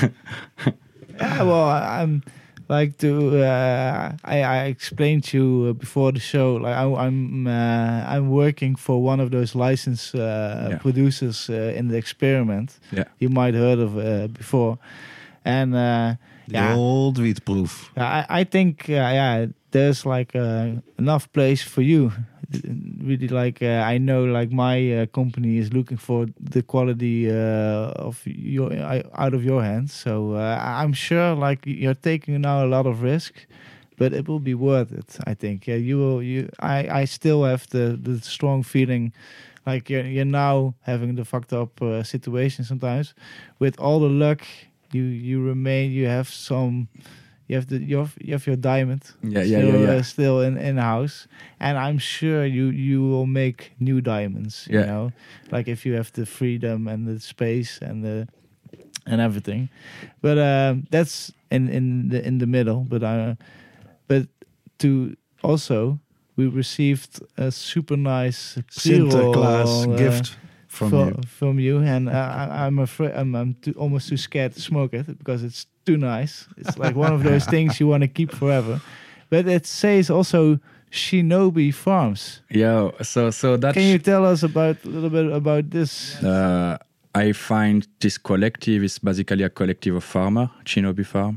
Yeah, well, I'm like to. Uh, I I explained to you before the show. Like I, I'm uh, I'm working for one of those licensed uh, yeah. producers uh, in the experiment. Yeah, you might heard of uh, before, and uh, the yeah, old Wietproef. I I think uh, yeah, there's like uh, enough place for you. Really, like uh, I know, like my uh, company is looking for the quality uh, of your uh, out of your hands. So uh, I'm sure, like you're taking now a lot of risk, but it will be worth it. I think. Yeah, you will. You, I, I still have the, the strong feeling, like you're you're now having the fucked up uh, situation sometimes. With all the luck, you you remain. You have some. You have the you have, you have your diamond. Yeah, still, yeah, yeah, yeah. Uh, still in in house, and I'm sure you you will make new diamonds. You yeah. know, like if you have the freedom and the space and the and everything. But um, that's in in the in the middle. But uh, but to also we received a super nice Sinterklaas uh, gift. From for, you, from you, and uh, I, I'm afraid I'm, I'm too, almost too scared to smoke it because it's too nice. It's like one of those things you want to keep forever. But it says also Shinobi Farms. Yeah, so so that. Can you tell us about a little bit about this? Uh, I find this collective is basically a collective of farmer, Shinobi Farm,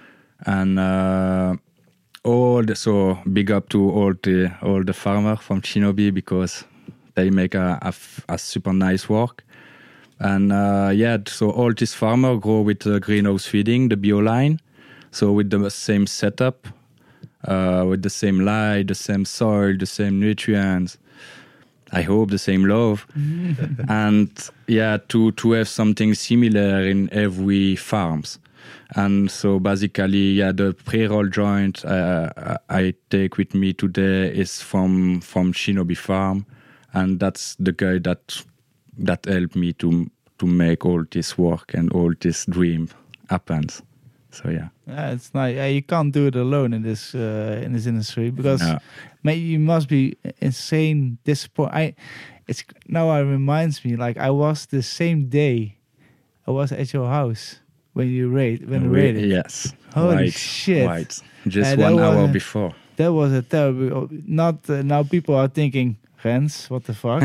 and uh, all the, so big up to all the all the farmer from Shinobi because. They make a, a, a super nice work. And uh, yeah, so all these farmers grow with uh, greenhouse feeding, the bio line. So with the same setup, uh, with the same light, the same soil, the same nutrients. I hope the same love. And yeah, to, to have something similar in every farms. And so basically, yeah, the pre-roll joint uh, I take with me today is from, from Shinobi Farm. And that's the guy that that helped me to to make all this work and all this dream happens. So yeah, yeah, it's nice. Yeah, you can't do it alone in this uh, in this industry because no. maybe you must be insane disappointed. I it's now it reminds me like I was the same day I was at your house when you raid when you raided. Yes, holy right, shit! right. Just uh, one hour a, before. That was a terrible. Not uh, now people are thinking. Rens, what the fuck?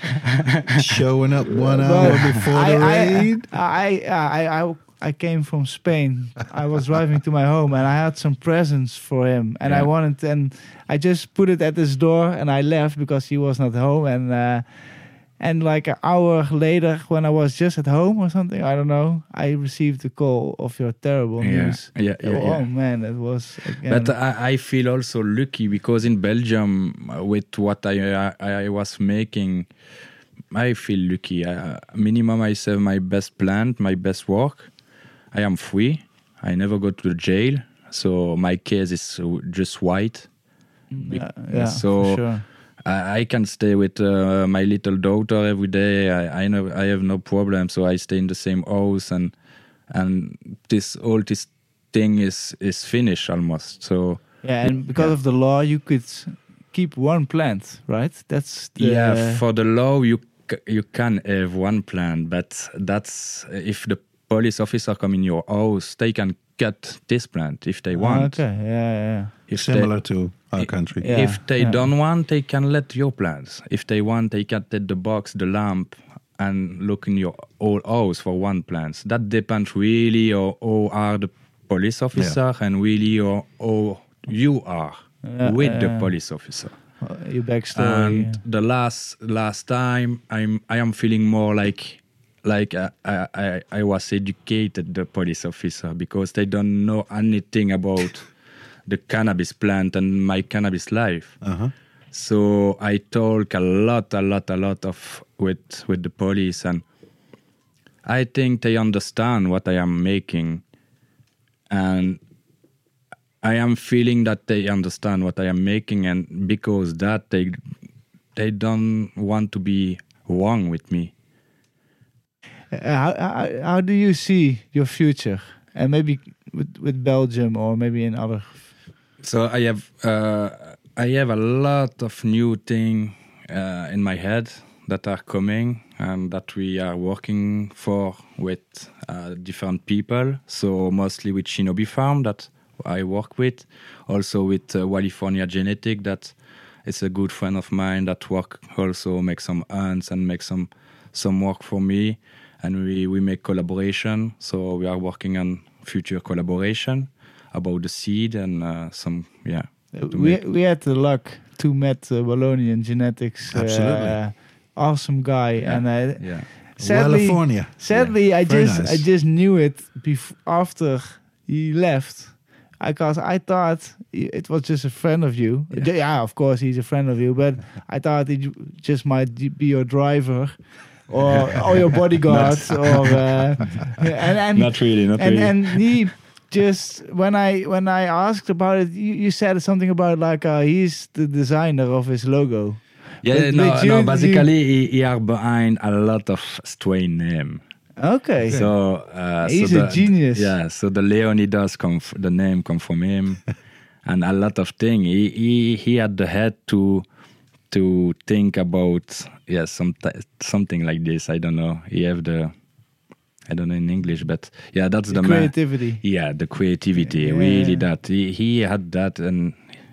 Showing up one hour before I, the raid. I, I, I, I, I came from Spain. I was driving to my home and I had some presents for him. And yeah. I wanted, and I just put it at his door and I left because he was not home. And uh, and like an hour later, when I was just at home or something, I don't know, I received a call of your terrible yeah. news. Yeah, yeah, oh yeah. man, it was. Again. But I, I feel also lucky because in Belgium, with what I I, I was making, I feel lucky. Uh, minimum, I have my best plant, my best work. I am free. I never go to the jail, so my case is just white. Yeah, yeah so. For sure. I, I can stay with uh, my little daughter every day. I I know I have no problem, so I stay in the same house, and and this all this thing is is finished almost. So Yeah, and because Yeah. of the law, you could keep one plant, right? That's the, yeah, for the law you c- you can have one plant, but that's if the police officer come in your house, they can cut this plant if they want. Okay, yeah, yeah. If Similar they, to our i- country. Yeah. if they yeah. don't want, they can let your plants. If they want, they can take the box, the lamp, and look in your whole house for one plant. That depends really on how are the police officer and really on how you are Yeah, with the yeah. police officer. Uh, Your backstory. And the last last time, I'm I am feeling more like like uh, I, I I was educated the police officer because they don't know anything about the cannabis plant and my cannabis life. Uh-huh. So I talk a lot, a lot, a lot of with with the police, and I think they understand what I am making, and I am feeling that they understand what I am making, and because that they they don't want to be wrong with me. Uh, how, how how do you see your future, and maybe with with Belgium or maybe in other? So I have uh, I have a lot of new things uh, in my head that are coming and that we are working for with uh, different people. So mostly with Shinobi Farm that I work with, also with uh, California Genetic that is a good friend of mine that work also make some ants and make some some work for me, and we, we make collaboration. So we are working on future collaboration about the seed and uh, some yeah. to We make- we had the luck to meet uh, Wallonian Genetics. Absolutely. Uh, awesome guy, Yeah. and uh, yeah. sadly, California. sadly, I Very just nice. I just knew it bef- after he left. Because I thought he- it was just a friend of you. Yeah. Yeah, of course he's a friend of you, but I thought he ju- just might be your driver or or your bodyguard or uh, and and Not really, not and really. and he just when I when I asked about it, you, you said something about like uh, he's the designer of his logo. yeah, but- no, but you- no. you- Basically, he, he are behind a lot of strain name. Okay, So uh, He's so a the, genius. Yeah, so the Leonidas come, f- the name come from him, and a lot of thing. He he he had the head to to think about yeah some something like this. I don't know. He have the I don't know in English, but yeah, that's the the man. creativity. Yeah, the creativity, Yeah. really that. He, he had that, and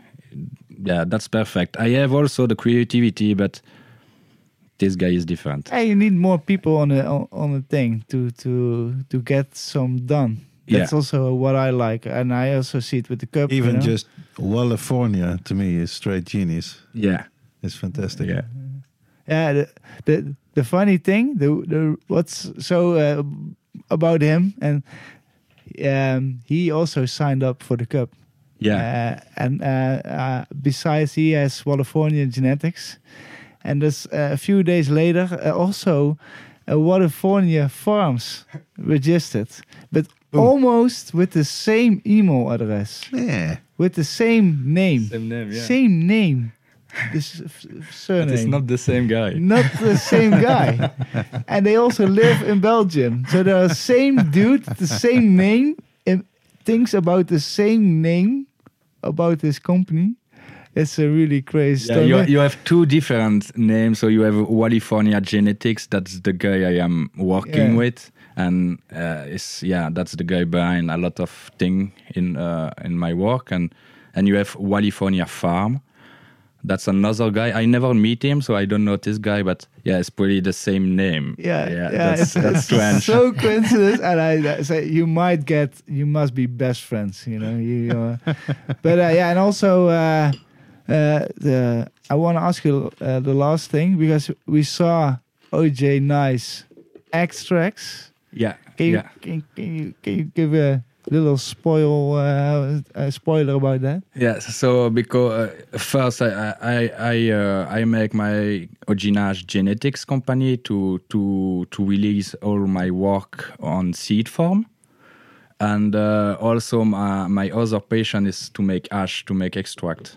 yeah, that's perfect. I have also the creativity, but this guy is different. Hey, you need more people on a on, on a thing to to to get some done. That's Yeah. also what I like, and I also see it with the cup. Even you know? just California to me is straight genius. Yeah, It's fantastic. yeah. yeah. The, the the funny thing, the the what's so uh, about him, and um, he also signed up for the cup. Yeah, Uh, and uh, uh, besides, he has California Genetics, and there's uh, a few days later uh, also uh, California Farms registered, but almost with the same email address, Yeah. with the same name, Same name, yeah. same name, this f- surname. But it's not the same guy. Not the same guy, and they also live in Belgium. So they're the same dude, the same name, and thinks about the same name about this company. It's a really crazy Yeah, story. you, you have two different names. So you have California Genetics. That's the guy I am working Yeah. with, and uh, is yeah, that's the guy behind a lot of thing in uh, in my work. And and you have California Farm. That's another guy. I never meet him, so I don't know this guy. But yeah, it's pretty the same name. Yeah, yeah, that's, it's, that's it's strange. so coincidence, and I I say you might get, you must be best friends, you know. You, uh, but uh, yeah, and also uh, uh, the I want to ask you uh, the last thing, because we saw O J Nice extracts. yeah, Can you, yeah. can, can you can you give a little spoil uh, a spoiler about that? Yeah, so because uh, first I I I, uh, I make my Oginage Genetics company to to to release all my work on seed form, and uh, also my, my other passion is to make ash, to make extract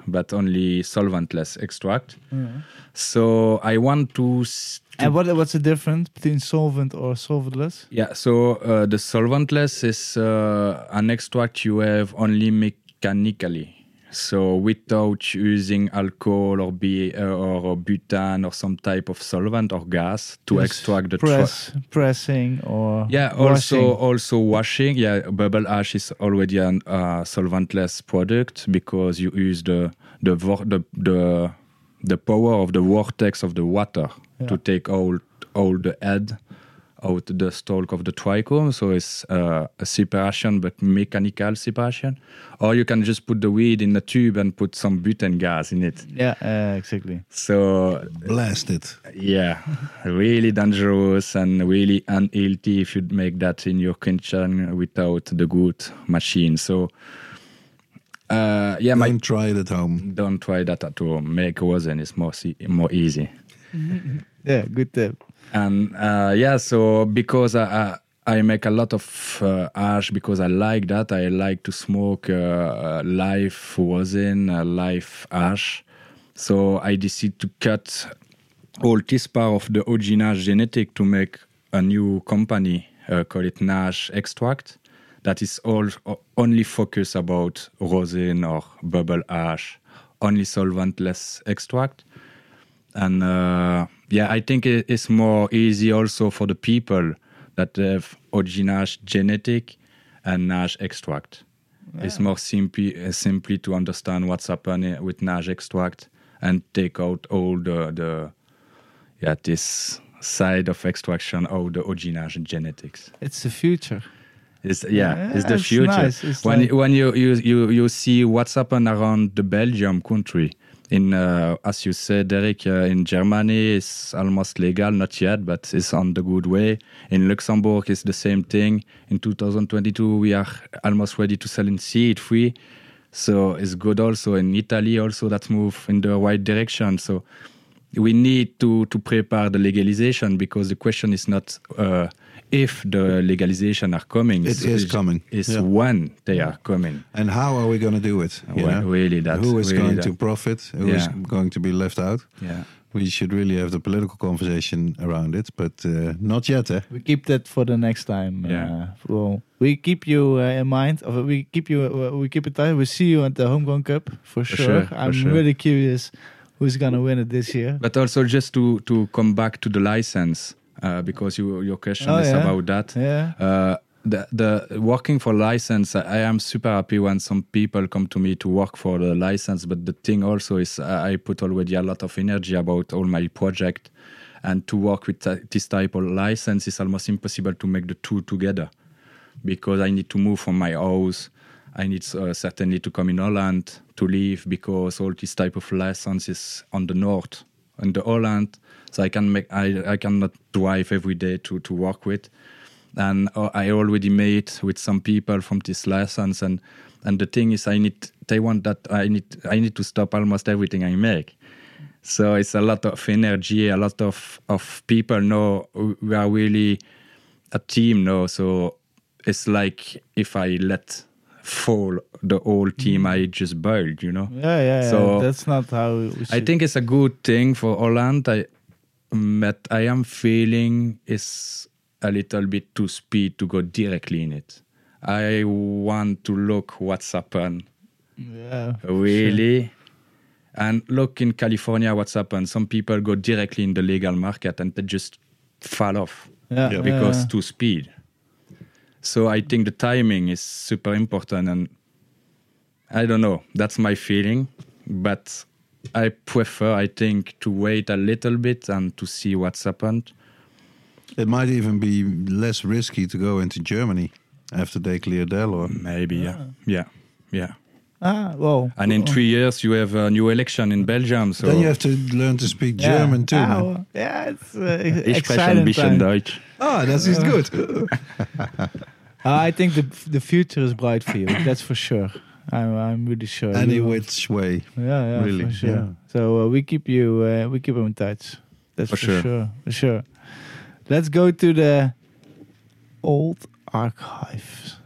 but only solventless extract. Yeah. So I want to. s- to And what what's the difference between solvent or solventless? Yeah, so uh, the solventless is uh, an extract you have only mechanically. So without using alcohol or, be, uh, or butane or some type of solvent or gas to Just extract the tri- press, pressing or Yeah, washing. also also washing. Yeah, bubble ash is already a uh, solventless product because you use the the vor- the the, the power of the vortex of the water Yeah. to take all all the head out the stalk of the trichome. So it's uh, a separation, but mechanical separation. Or you can just put the weed in a tube and put some butane gas in it. Yeah, uh, exactly. So Blast it. yeah, really dangerous and really unhealthy if you make that in your kitchen without the good machine. So, uh, yeah, Don't my, try it at home. don't try that at home. Make rosin is more se- more easy. Yeah, good tip. And uh, yeah, so because I, I I make a lot of uh, ash because I like that. I like to smoke uh, uh, live rosin, uh, live ash. So I decided to cut all this part of the O G Nash genetic to make a new company, uh, call it Nash Extract, that is all only focus about rosin or bubble ash, only solventless extract. And uh, yeah, I think it- it's more easy also for the people that have O G Nash genetic and Nash extract. It's more simply uh, simply to understand what's happening with Nash extract and take out all the the yeah this side of extraction of the O G Nash genetics. It's the future. It's, yeah, Yeah, it's the it's future. nice. It's when like- when you, you you you see what's happened around the Belgium country, in uh, as you said, Derek, uh, in Germany it's almost legal, not yet, but it's on the good way. In Luxembourg, it's the same thing. In two thousand twenty-two, we are almost ready to sell in seed free, so it's good. Also in Italy, also that's move in the right direction. So we need to to prepare the legalization because the question is not uh, if the legalization are coming. It it's, is it's- coming. It's Yeah. when they are coming. And how are we going to do it? you Well, know? really that- Who is really going that. to profit? Who is Yeah. going to be left out? Yeah. We should really have the political conversation around it, but uh, not yet. Eh? We keep that for the next time. Yeah. Uh, well, we keep you uh, in mind. Or we keep you. Uh, we keep it tight. We see you at the Homegrown Cup for, For sure. sure, for I'm sure. really curious who's gonna win it this year. But also just to to come back to the license uh, because you, your question Oh, is yeah. about that. Yeah. Uh, the the working for license, I am super happy when some people come to me to work for the license. But the thing also is, uh, I put already a lot of energy about all my project, and to work with uh, this type of license is almost impossible to make the two together, because I need to move from my house. I need uh, certainly to come in Holland to live because all this type of license is on the north, on the Holland, so I can make I I cannot drive every day to to work with. And uh, I already made with some people from this license, and and the thing is, I need they want that I need I need to stop almost everything I make. So it's a lot of energy, a lot of of people. No, we are really a team now. So it's like if I let fall the whole team I just built, you know. Yeah, yeah, yeah. So That's not how we I should- think it's a good thing for Holland. I, but I am feeling it's a little bit too speed to go directly in it. I want to look what's happened Yeah. for really, and look in California what's happened. Some people go directly in the legal market and they just fall off sure. Yeah, Yeah. because yeah. too speed. So I think the timing is super important, and I don't know. That's my feeling, but I prefer, I think, to wait a little bit and to see what's happened. It might even be less risky to go into Germany after they clear their law. Maybe, yeah, yeah, yeah. Ah, well. And in three years, you have a new election in Belgium. So Then you have to learn to speak Yeah. German too. Ah, man. well, yeah, it's uh, ich spreche ein exciting bisschen time. Deutsch. Ah, that is good. Uh, I think the the future is bright for you. That's for sure. I'm I'm really sure. Any You- which way. Yeah, yeah, Really, for sure. yeah. So uh, we keep you uh, we keep you in touch. That's For for, sure. sure. For sure. Let's go to the old archives.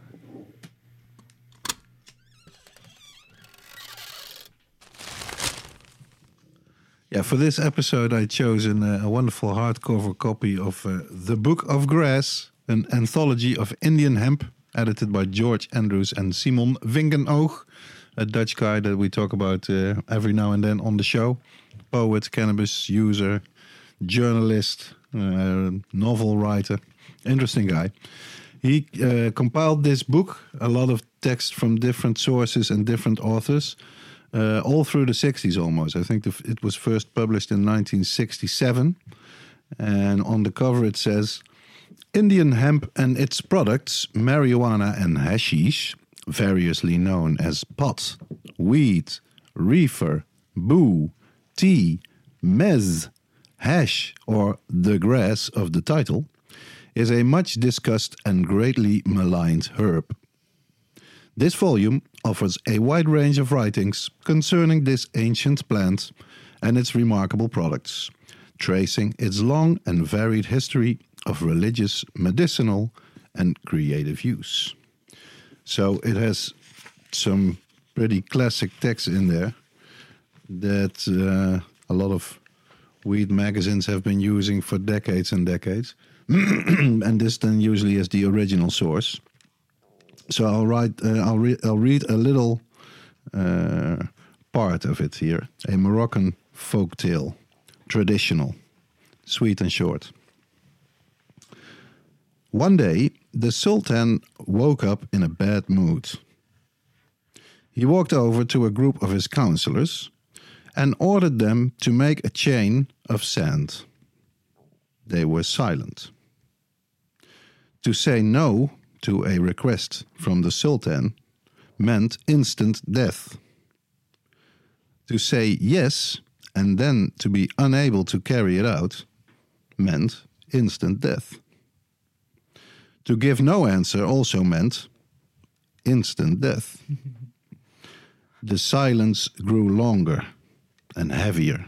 Yeah, for this episode, I chose an, uh, a wonderful hardcover copy of uh, The Book of Grass, an anthology of Indian hemp, edited by George Andrews and Simon Vinkenoog, a Dutch guy that we talk about uh, every now and then on the show. Poet, cannabis user, journalist, uh, novel writer. Interesting guy. He uh, compiled this book, a lot of text from different sources and different authors, uh, all through the sixties almost. I think the, it was first published in nineteen sixty-seven. And on the cover it says, Indian hemp and its products, marijuana and hashish, variously known as pot, weed, reefer, boo, tea, mez, hash, or the grass of the title, is a much discussed and greatly maligned herb. This volume offers a wide range of writings concerning this ancient plant and its remarkable products, tracing its long and varied history of religious, medicinal, and creative use. So it has some pretty classic text in there that uh, a lot of weed magazines have been using for decades and decades. And this then usually is the original source. So I'll write, uh, I'll, re- I'll read a little uh, part of it here. A Moroccan folk tale, traditional, sweet and short. One day, the Sultan woke up in a bad mood. He walked over to a group of his counselors and ordered them to make a chain of sand. They were silent. To say no to a request from the Sultan meant instant death. To say yes and then to be unable to carry it out meant instant death. To give no answer also meant instant death. The silence grew longer and heavier.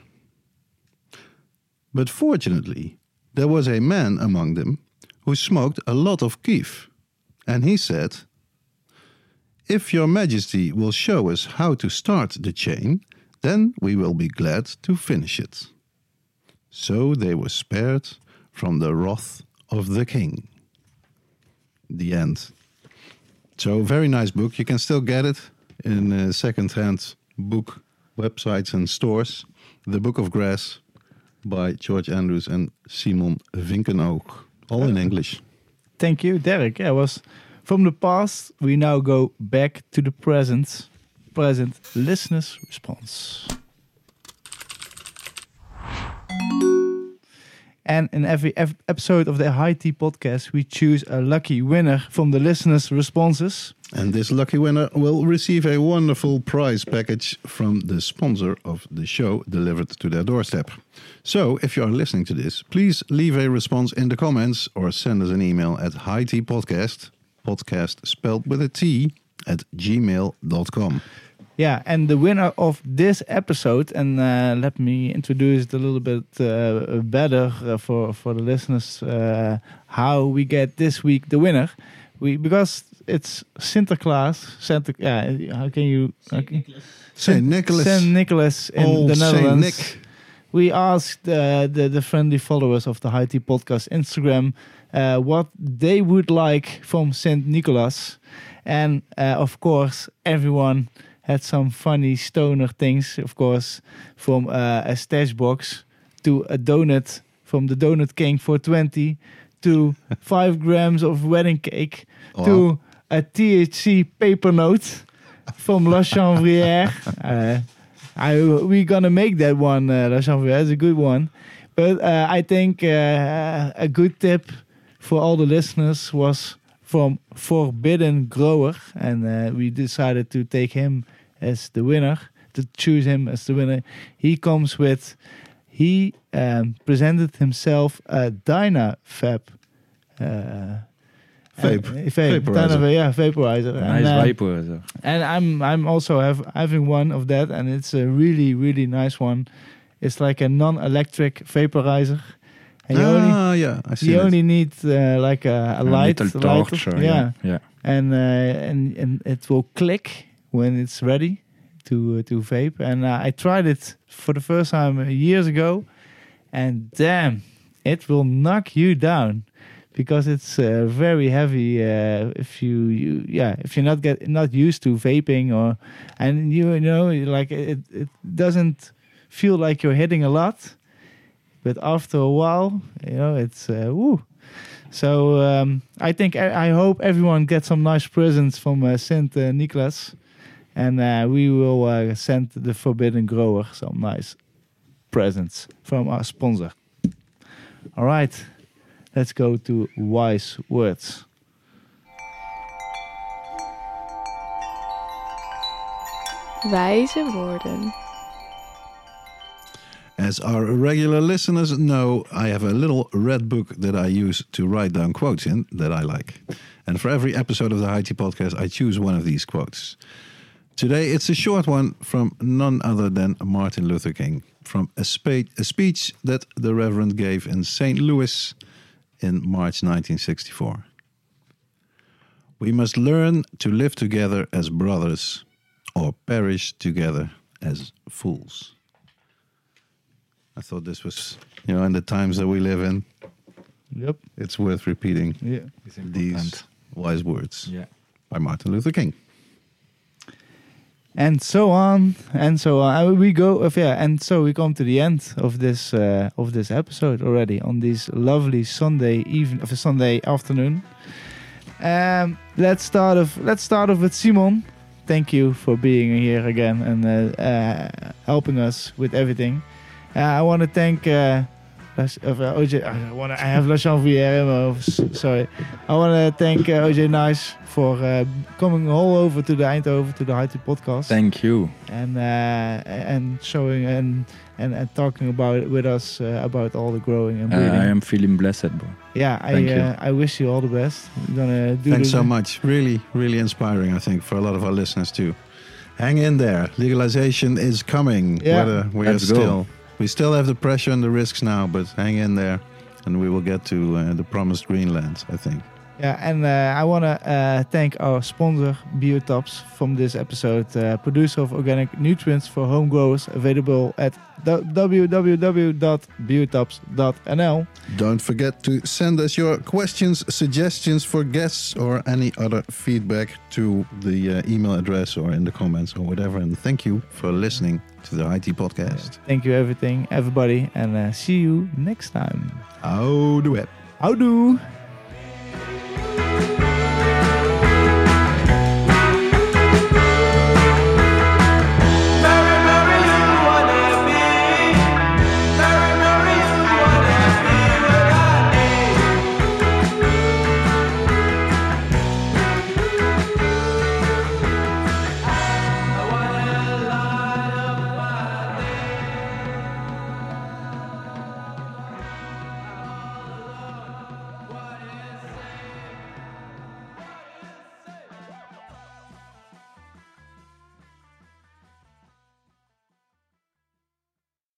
But fortunately, there was a man among them who smoked a lot of keef, and he said, "If your majesty will show us how to start the chain, then we will be glad to finish it." So they were spared from the wrath of the king. The end. So, very nice book. You can still get it in uh, second-hand book websites and stores. The Book of Grass by George Andrews and Simon Vinkenoog. All in English. Thank you, Derek. Yeah, it was from the past. We now go back to the present. Present listeners' response. And in every ep- episode of the High Tea Podcast, we choose a lucky winner from the listeners' responses. And this lucky winner will receive a wonderful prize package from the sponsor of the show delivered to their doorstep. So, if you are listening to this, please leave a response in the comments or send us an email at highteapodcast, podcast spelled with a T, at gmail dot com. Yeah, and the winner of this episode, and uh, let me introduce it a little bit uh, better uh, for for the listeners, uh, how we get this week the winner. We because it's Sinterklaas, Santa. Yeah, how can you? Okay. Saint Nicholas. Saint Nicholas in Old the Netherlands. Saint Nick. We asked uh, the the friendly followers of the High Tea Podcast Instagram uh, what they would like from Saint Nicholas, and uh, of course everyone had some funny stoner things, of course, from uh, a stash box to a donut from the Donut King for twenty to five grams of wedding cake Wow. to a T H C paper note from La Chanvrière. uh, I, we're gonna make that one, uh, La Chanvrière. It's a good one. But uh, I think uh, a good tip for all the listeners was from Forbidden Grower, and uh, we decided to take him as the winner, to choose him as the winner. He comes with, he um, presented himself a Dynafab. Uh, Vape. uh, vape. Vaporizer. Dyna, yeah, vaporizer. Nice and, uh, vaporizer. and I'm I'm also have having one of that, and it's a really really nice one. It's like a non-electric vaporizer, and you only Ah, yeah, I see you it. only need uh, like a, a A light, little lighter. torch. uh, yeah. yeah. and uh, and and it will click when it's ready. to uh, to vape, and uh, I tried it for the first time years ago, and damn, it will knock you down because it's uh, very heavy. Uh, if you, you yeah, if you're not get not used to vaping, or and you, you know like it it doesn't feel like you're hitting a lot, but after a while, you know it's uh, woo. So um, I think I, I hope everyone gets some nice presents from uh, Saint uh, Nicholas, and uh, we will uh, send the Forbidden Grower some nice presents from our sponsor. All right, let's go to wise words. Wijze woorden. As our regular listeners know, I have a little red book that I use to write down quotes in that I like. And for every episode of the High Tea Podcast, I choose one of these quotes. Today, it's a short one from none other than Martin Luther King, from a, spe- a speech that the Reverend gave in Saint Louis in March nineteen sixty-four. We must learn to live together as brothers or perish together as fools. I thought this was, you know, in the times that we live in, Yep. it's worth repeating Yeah. these wise words Yeah. by Martin Luther King. And so on and so on. Uh, We go of yeah, and so we come to the end of this uh, of this episode already on this lovely Sunday evening of a Sunday afternoon. Um, let's start off. Let's start off with Simon. Thank you for being here again and uh, uh, helping us with everything. Uh, I want to thank. Uh, Las- of, uh, O J, I want I have La Chanvière in my office. Sorry. I want to thank uh, O J Nice for uh, coming all over to the Eindhoven to the High Tea Podcast. Thank you. and uh, and showing and, and and talking about it with us uh, about all the growing and Uh, breeding. I am feeling blessed, bro. yeah, I thank you. uh, I wish you all the best. We're gonna do Thanks the, so much. Really, really inspiring, I think, for a lot of our listeners too. Hang in there. Legalization is coming. Yeah. Whether we are Let's go. still, we still have the pressure and the risks now, but hang in there, and we will get to uh, the promised Greenland, I think. Yeah, and uh, I want to uh, thank our sponsor, Biotops, from this episode, uh, producer of organic nutrients for home growers, available at w w w dot biotops dot n l. Don't forget to send us your questions, suggestions for guests, or any other feedback to the uh, email address or in the comments or whatever. And thank you for listening to the I T Podcast. Thank you, everything, everybody, and uh, see you next time. Houdoe. Houdoe!